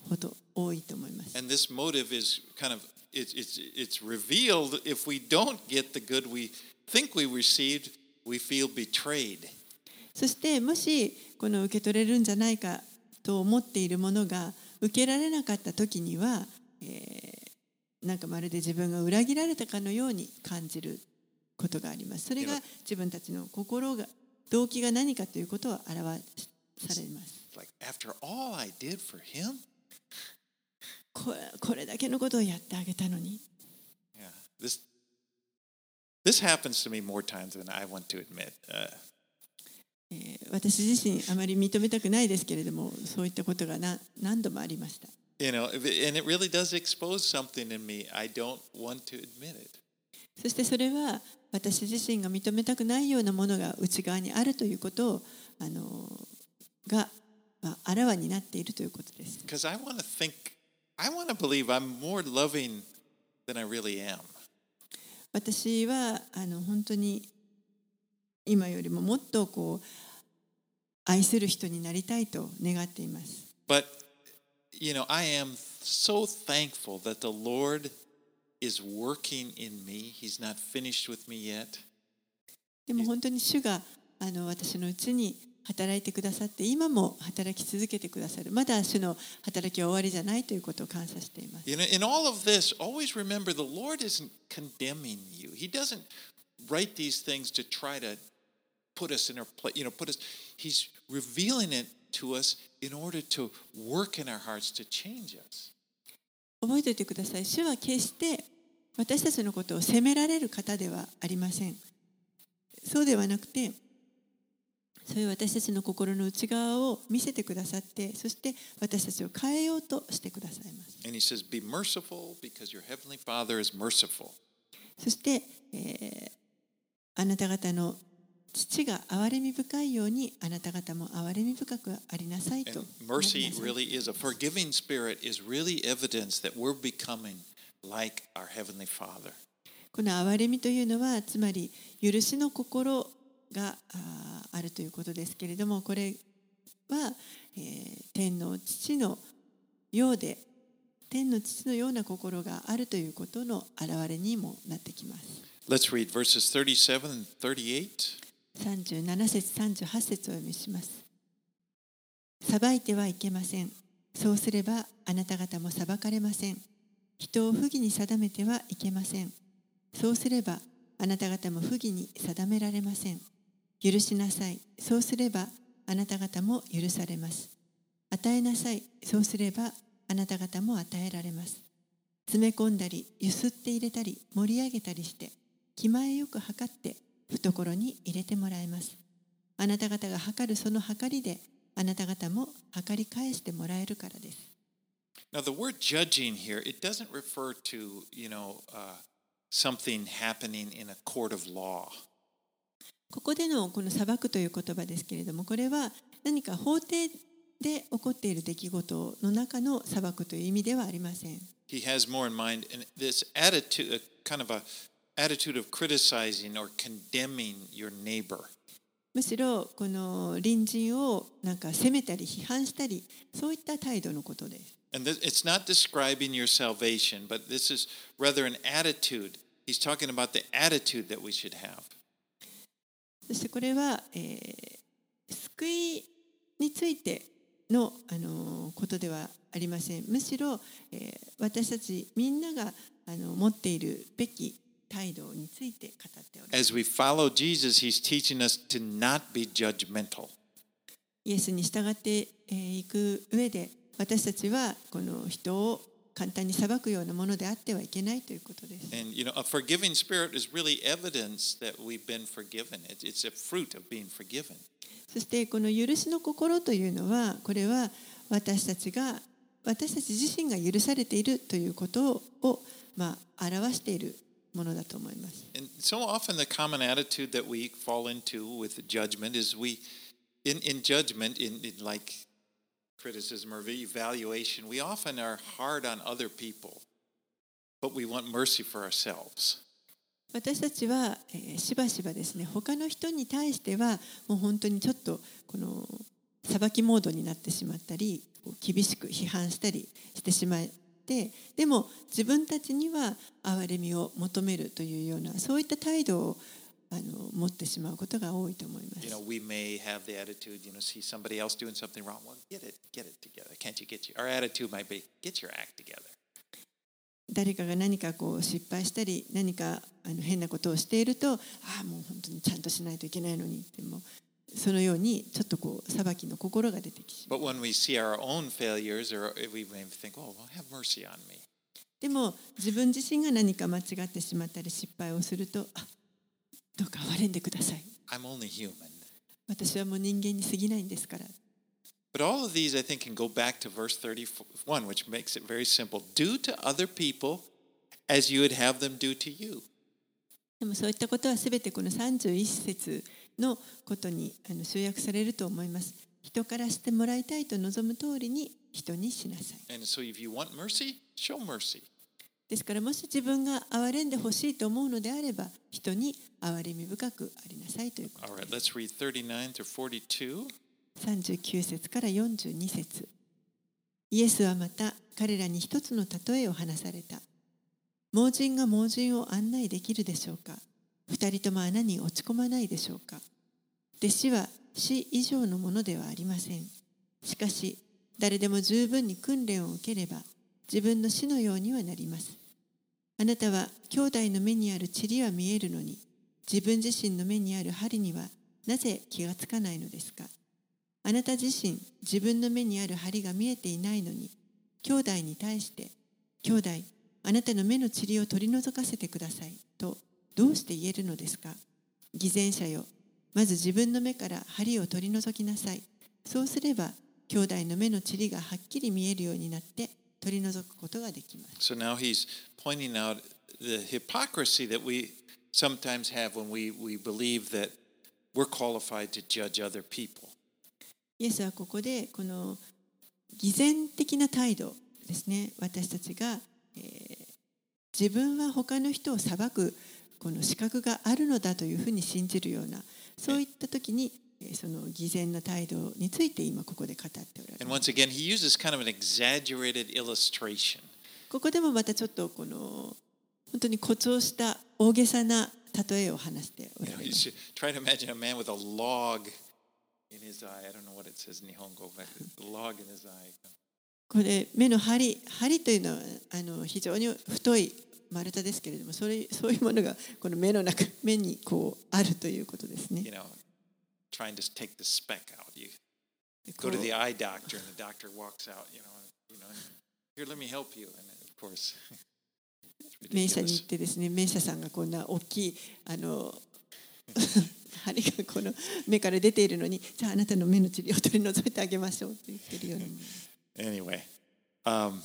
ほど多いと思います。 And this motive is kind of it's it's it's revealed if we don't get the good we think we received, we feel betrayed. そしてもしこの受け取れるんじゃないかと思っているものが受けられなかった時には、えー、なんかまるで自分が裏切られたかのように感じることがあります。それが自分たちの心が動機が何かということを表されます。 Like after all I did for him? これ、これだけのことをやってあげたのに。 Yeah, this this happens to me more times than I want to admit. Uh, えー、私自身あまり認めたくないですけれども、そういったことがな何度もありました。 You know, and it really does expose something in me. I don't want to admit it. そしてそれは私自身が認めたくないようなものが内側にあるということをあのが、まあ、あらわになっているということです。 Because I want to think, I want to believe I'm more loving than I really am. 私はあの本当に今よりももっとこう愛する人になりたいと願っています。 But, you know, I am so thankful that the Lord is working in me. He's not finished with me yet. でも本当に主があの私のうちに働いてくださって今も働き続けてくださる。まだ主の働きは終わりじゃないということを感謝しています。 You know, in all of this, always remember the Lord isn't condemning you. He doesn't write these things to try to put us in our place, you know, put us, He's revealing it to us in order to work in our hearts to change us. 覚えておいてください。主は決して私たちのことを責められる方ではありません。そうではなくて、そういう私たちの心の内側を見せてくださって、そして私たちを変えようとしてくださいます。 And he says, be merciful because your heavenly Father is merciful. そして、えー、あなた方の父が憐れみ深いようにあなた方も憐れみ深くありなさいと。 And mercy really is a forgiving spirit is really evidence that we're becoming like our heavenly Father. この憐れみというのはつまり許しの心が あ, あるということですけれども、これは、えー、天の父のようで天の父のような心があるということの表れにもなってきます。 Let's read verses thirty-seven and thirty-eight. さんじゅうなな節さんじゅうはち節をお読みします。裁いてはいけません。そうすればあなた方も裁かれません。人を不義に定めてはいけません。そうすればあなた方も不義に定められません。許しなさい。そうすればあなた方も許されます。与えなさい。そうすればあなた方も与えられます。詰め込んだり、ゆすって入れたり、盛り上げたりして、気前よく測って懐に入れてもらいます。あなた方が測るその測りで、あなた方も測り返してもらえるからです。 Now the word judging here, it doesn't refer to, you know, uh, something happening in a court of law. ここでのこの裁くという言葉ですけれども、これは何か法廷で起こっている出来事の中の裁くという意味ではありません。 He has more in mind, and this attitude, a kind of a attitude of criticizing or condemning your neighbor. むしろこの隣人をなんか責めたり批判したり、そういった態度のことです。 And this, it's not describing your salvation, but this is rather an attitude. He's talking about the attitude that we should have. そしてこれは、えー、救いについての、あのー、ことではありません。むしろ、えー、私たちみんながあの持っているべき態度について語っております。 As we follow Jesus, he's teaching us to not be judgmental. イエスに従っていく上で、私たちはこの人を簡単に裁くようなものであってはいけないということです。 And you know, a forgiving spirit is really evidence that we've been forgiven. It's a fruit of being forgiven. そしてこの許しの心というのは、これは私たちが私たち自身が許されているということを、まあ、表しているものだと思います。 And so often the common attitude that we fall into with judgment is we, in, in judgment, in, in like criticism or evaluation, we often are hard on other people, but we want mercy for ourselves. 私たちは、えー、しばしばですね、他の人に対してはもう本当にちょっとこの裁きモードになってしまったり、 厳しく批判したりしてしまって、でも自分たちには憐れみを求めるというようなそういった態度をあの持ってしまうことが多いと思います。 You know, we may have the attitude, you know, see somebody else doing something wrong. Well, get it, get it together. Can't you get you? Our attitude might be, get your act together. 誰かが何かこう失敗したり何かあの変なことをしていると、ああもう本当にちゃんとしないといけないのにってもそのようにちょっとこう裁きの心が出てきま But when we see our own failures, or we may think, oh, well, have mercy on me. でも自分自身が何か間違ってしまったり失敗をすると、あ、どうか憐れんでください。 I'm only human. 私はもう人間に過ぎないんですから。 But all of these, I think, can go back to verse thirty-one, which makes it very simple. Do to other people as you would have them do to you. でもそういったことはすべてこのさんじゅういち節のことにあの集約されると思います。人からしてもらいたいと望む通りに人にしなさい。 And so if you want mercy, show mercy. ですからもし自分が憐れんでほしいと思うのであれば人に憐れみ深くありなさいということ All で right, す。 let's read thirty-nine through forty-two. さんじゅうきゅう節からよんじゅうに節。イエスはまた彼らに一つの例えを話された。盲人が盲人を案内できるでしょうか。二人とも穴に落ち込まないでしょうか。弟子は死以上のものではありません。しかし誰でも十分に訓練を受ければ自分の死のようにはなります。あなたは兄弟の目にある塵は見えるのに自分自身の目にある針にはなぜ気がつかないのですか。あなた自身自分の目にある針が見えていないのに兄弟に対して兄弟あなたの目の塵を取り除かせてくださいとどうして言えるのですか。偽善者よ、まず自分の目から針を取り除きなさい。そうすれば兄弟の目の塵がはっきり見えるようになって取り除くことができます。 So now he's pointing out the hypocrisy that we sometimes have when we, we believe that we're qualified to judge other people. イエスはここでこの偽善的な態度ですね、私たちが、えー、自分は他の人を裁くこの資格があるのだというふうに信じるようなそういった時にその偽善な態度について今ここで語っておられ And ます。 once again, he uses kind of an exaggerated illustration. ここでもまたちょっとこの本当に誇張した大げさな例えを話してお You ら know, れ you ます。 should try to imagine a man with a log in his eye. I don't know what it says in Nihongo, but a log in his eye. これ目の針、針というのはあの非常に太い丸太ですけれども、それそういうものがこの目の中、目にこうあるということですね。 You know, trying to take the speck out. You こ go う to the eye doctor, and the doctor walks out. You know, you know, here, let me help you. And of course, it's 名車に ridiculous. 行ってですね、名車さんがこんな大きいあの針がこの目から出ているのに、じゃああなたの目の塵を取り除いてあげましょうと言ってるようなもの。 Anyway, um,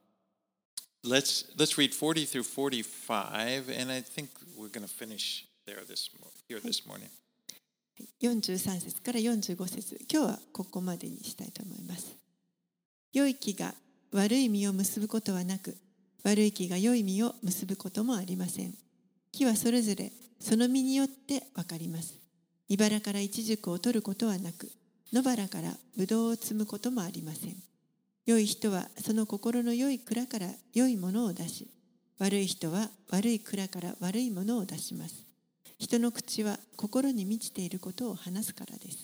let's let's read forty through forty-five, and I think we're going to finish there this mo- here this morning. よんじゅうさん節からよんじゅうご節、今日はここまでにしたいと思います。良い木が悪い実を結ぶことはなく、悪い木が良い実を結ぶこともありません。木はそれぞれその実によってわかります。茨からイチジクを取ることはなく、野原からブドウを摘むこともありません。良い人はその心の良い蔵から良いものを出し、悪い人は悪い蔵から悪いものを出します。人の口は心に満ちていることを話すからです。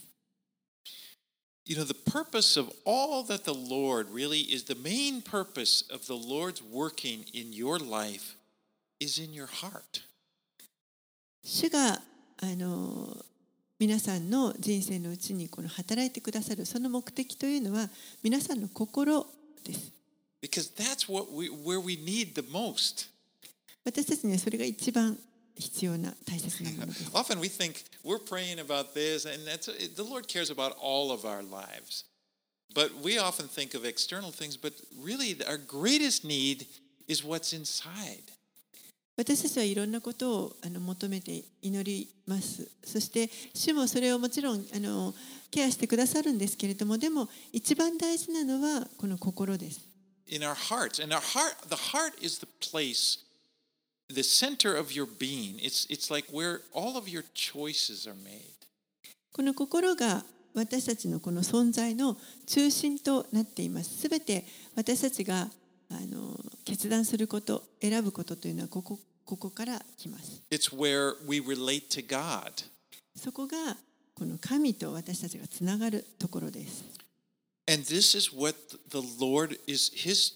You know, the purpose of all that the Lord really is the main purpose of the Lord's working in your life is in your heart. 主があの皆さんの人生のうちにこの働いてくださるその目的というのは皆さんの心です。 Because that's what we, where we need the most. 私たちにはそれが一番必要な大切なものです。 Often we think we're praying about this, and that's the Lord cares about all of our lives. But we often think of external things, but really our greatest need is what's inside. 私たちはいろんなことをあの求めて祈ります。そして主もそれをもちろんあのケアしてくださるんですけれども、でも一番大事なのはこの心です。 In our hearts, and our heart, the heart is the place, the center of your being. It's it's like where all of your choices are made. この心が私たちのこの存在の中心となっています。すべて私たちがあの決断すること、選ぶことというのはここ、ここから来ます。 It's where we relate to God. そこがこの神と私たちがつながるところです。 And this is what the Lord is, His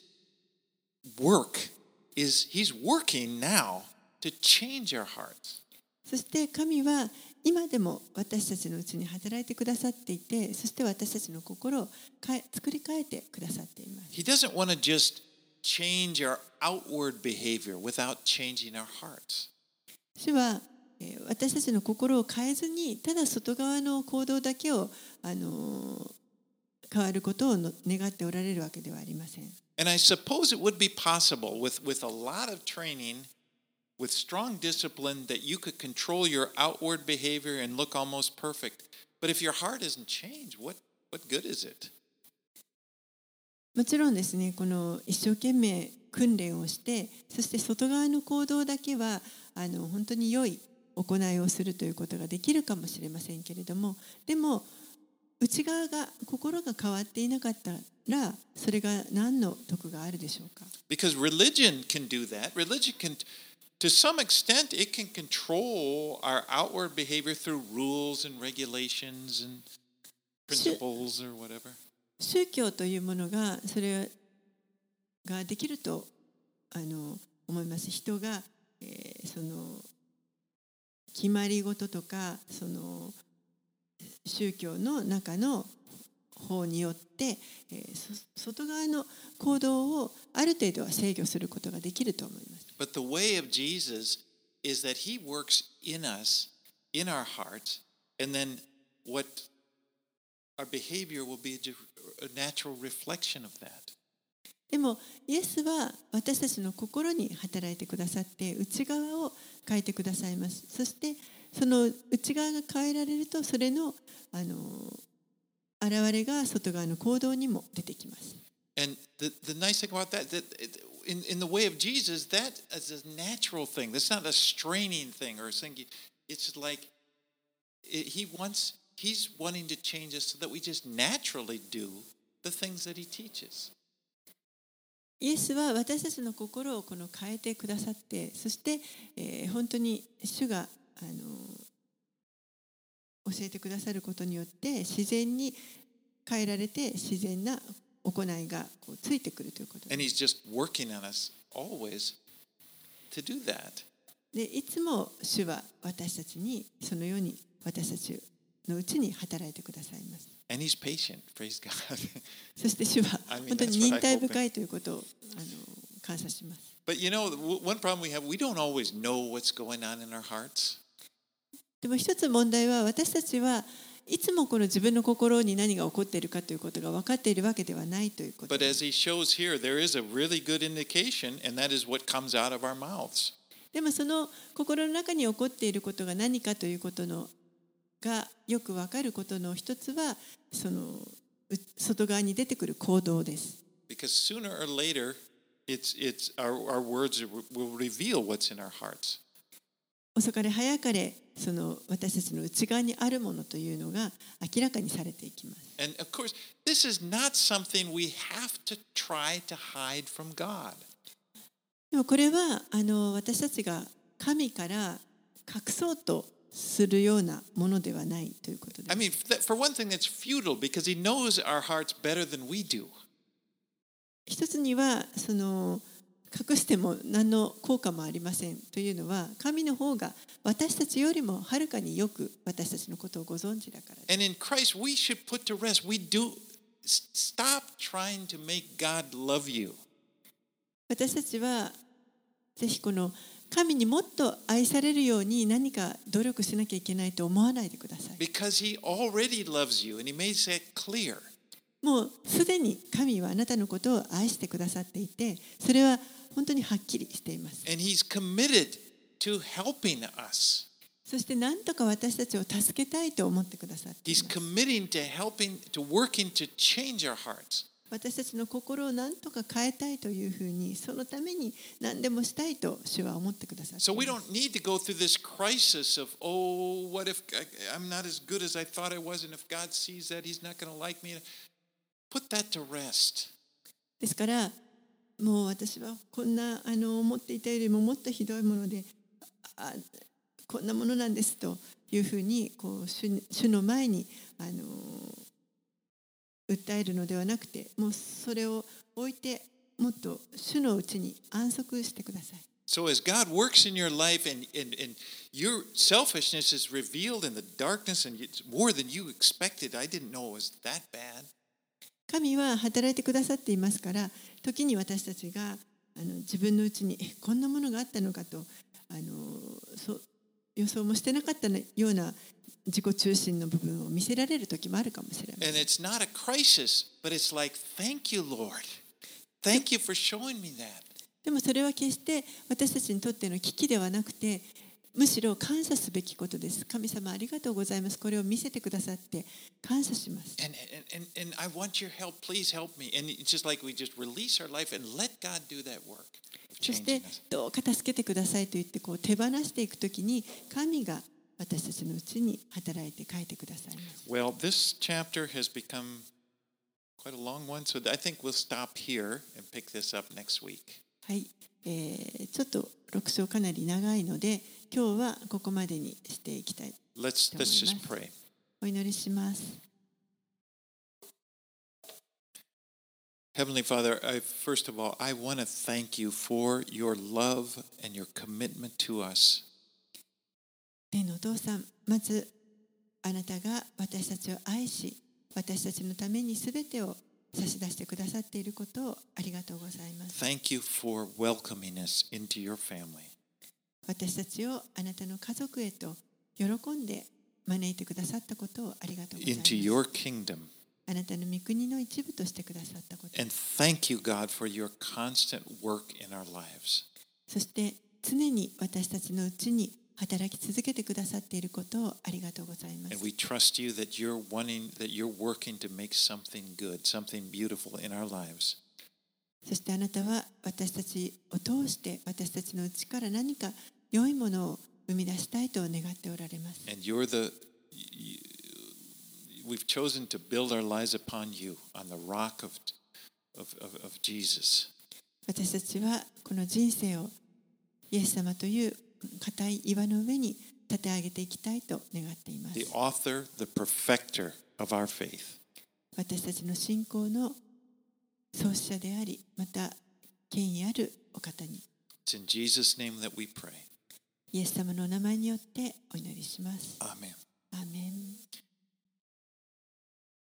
work is, He's working now to change our hearts. そして神は今でも私たちのうちに働いてくださっていて、そして私たちの心を変え作り変えてくださっています。 He doesn't want to just change our outward behavior without changing our hearts. 主はえー私たちの心を変えずに、ただ外側の行動だけを、あのー変わることをの願っておられるわけではありません。 And I suppose it would be possible with, with a lot of training, with strong discipline, that you could control your outward behavior and look almost perfect. But if your heart isn't changed, what, what good is it? もちろんですね、この一生懸命訓練をして、そして外側の行動だけはあの本当に良い行いをするということができるかもしれませんけれども、でも内側が心が変わっていなかったら、それが何の得があるでしょうか。 Because religion can do that. Religion can, to some extent, it can control our outward behavior through rules and regulations and principles or whatever. 宗教というものがそれができるとあの思います。人が、えー、その決まり事とかその宗教の中の法によって、えー、外側の行動をある程度は制御することができると思います。 But the way of Jesus is that He works in us, in our hearts, and then what our behavior will be a natural reflection of that. でもイエスは私たちの心に働いてくださって内側を変えてくださいます。そしてその内側が変えられると、それのあの現れが外側の行動にも出てきます。 And the, the nice thing about that, that in, in the way of Jesus, that is a natural thing. That's not a straining thing or something. It's like it, He wants, He's wanting to change us so that we just naturally do the things that He teaches. イエスは私たちの心をこの変えてくださって、そして、えー、本当に主があの教えてくださることによって自然に変えられて自然な行いがこうついてくるということです。 And He's just working on us always to do that. でいつも主は私たちにそのように私たちのうちに働いてくださいます。 And He's patient, praise God. そして主は本当に忍耐深いということをあの感謝します。 But you know, one problem we have, we don't always know what's going on in our hearts. でも一つ問題は、私たちはいつもこの自分の心に何が起こっているかということが分かっているわけではないということ。 But as He shows here, there is a really good indication, and that is what comes out of our mouths. でもその心の中に起こっていることが何かということのがよく分かることの一つは、その外側に出てくる行動です。 Because sooner or later, it's, it's, our, our words will reveal what's in our hearts. 遅かれ早かれその私たちの内側にあるものというのが明らかにされていきます。 And of course, this is not something we have to try to hide from God. でもこれはあの私たちが神から隠そうとするようなものではないということです。 I mean, for one thing, that's futile because He knows our hearts better than we do. 一つにはその隠しても何の効果もありませんというのは、神の方が私たちよりもはるかによく私たちのことをご存知だからです。 And in Christ, we should put to rest. We do stop trying to make God love you. 私たちはぜひこの神にもっと愛されるように何か努力しなきゃいけないと思わないでください。 Because He already loves you, and He makes that clear. もうすでに神はあなたのことを愛してくださっていて、それは本当にはっきりしています。 And He's committed to helping us. そして何とか私たちを助けたいと思ってくださってい He's ます。 committing to helping, to working to change our hearts. 私たちの心を何とか変えたいというふうに、そのために何でもしたいと主は思ってくださって So い we ます。 don't need to go through this crisis of, oh, what if I- I'm not as good as I thought I was, and if God sees that, He's not going to like me. Put that to rest. ですからもう私はこんなあの思っていたよりももっとひどいもので、あこんなものなんですというふうにこう 主, 主の前にあの訴えるのではなくて、もうそれを置いてもっと主のうちに安息してください。 So as God works in your life and, and, and your selfishness is revealed in the darkness and it's more than you expected, I didn't know it was that bad. 神は働いてくださっていますから、時に私たちがあの自分のうちにえこんなものがあったのかとあのそ予想もしてなかったような自己中心の部分を見せられる時もあるかもしれません。 And it's not a crisis, but it's like, thank you, Lord. Thank you for showing me that. でもそれは決して私たちにとっての危機ではなくて、むしろ感謝すべきことです。神様ありがとうございます。これを見せてくださって感謝します。 And, and, and, and I want your help. Please help me. And it's just like we just release our life and let God do that work of そして changing us. どうか助けてくださいと言ってこう手放していくときに、神が私たちのうちに働いて書いてくださいます。 Well, this chapter has become quite a long one, so I think we'll stop here and pick this up next week. はい、えー、ちょっとろく章かなり長いので、今日はここまでにしていきたい Let's, と思い let's ます。 just pray. お祈りします。 Heavenly Father, I, first of all, I want to thank you for your love and your commitment to us. 天のお父さん、まずあなたが私たちを愛し、私たちのためにすべてを差し出してくださっていることをありがとうございます。 Thank you for welcoming us into your family. 私たちをあなたの家族へと喜んで招いてくださったことをありがとうございます。 Into your kingdom. あなたの御国の一部としてくださったこと。 And thank you, God, for your constant work in our lives. そして常に私たちのうちに働き続けてくださっていることをありがとうございます。 And we trust you that you're wanting, that you're working to make something good, something beautiful in our lives. そしてあなたは私たちを通して私たちのうちから何か良いものを生み出したいと願っておられます。 And you're the, we've chosen to build our lives upon you, on the rock of, of, of, of Jesus. 私たちはこの人生をイエス様という固い岩の上に立て上げていきたいと願っています。 The author, the perfecter of our faith. 私たちの信仰の創始者であり、また権威あるお方に、 It's in Jesus' name that we pray. イエス様のお名前によってお祈りします。 Amen. アーメン。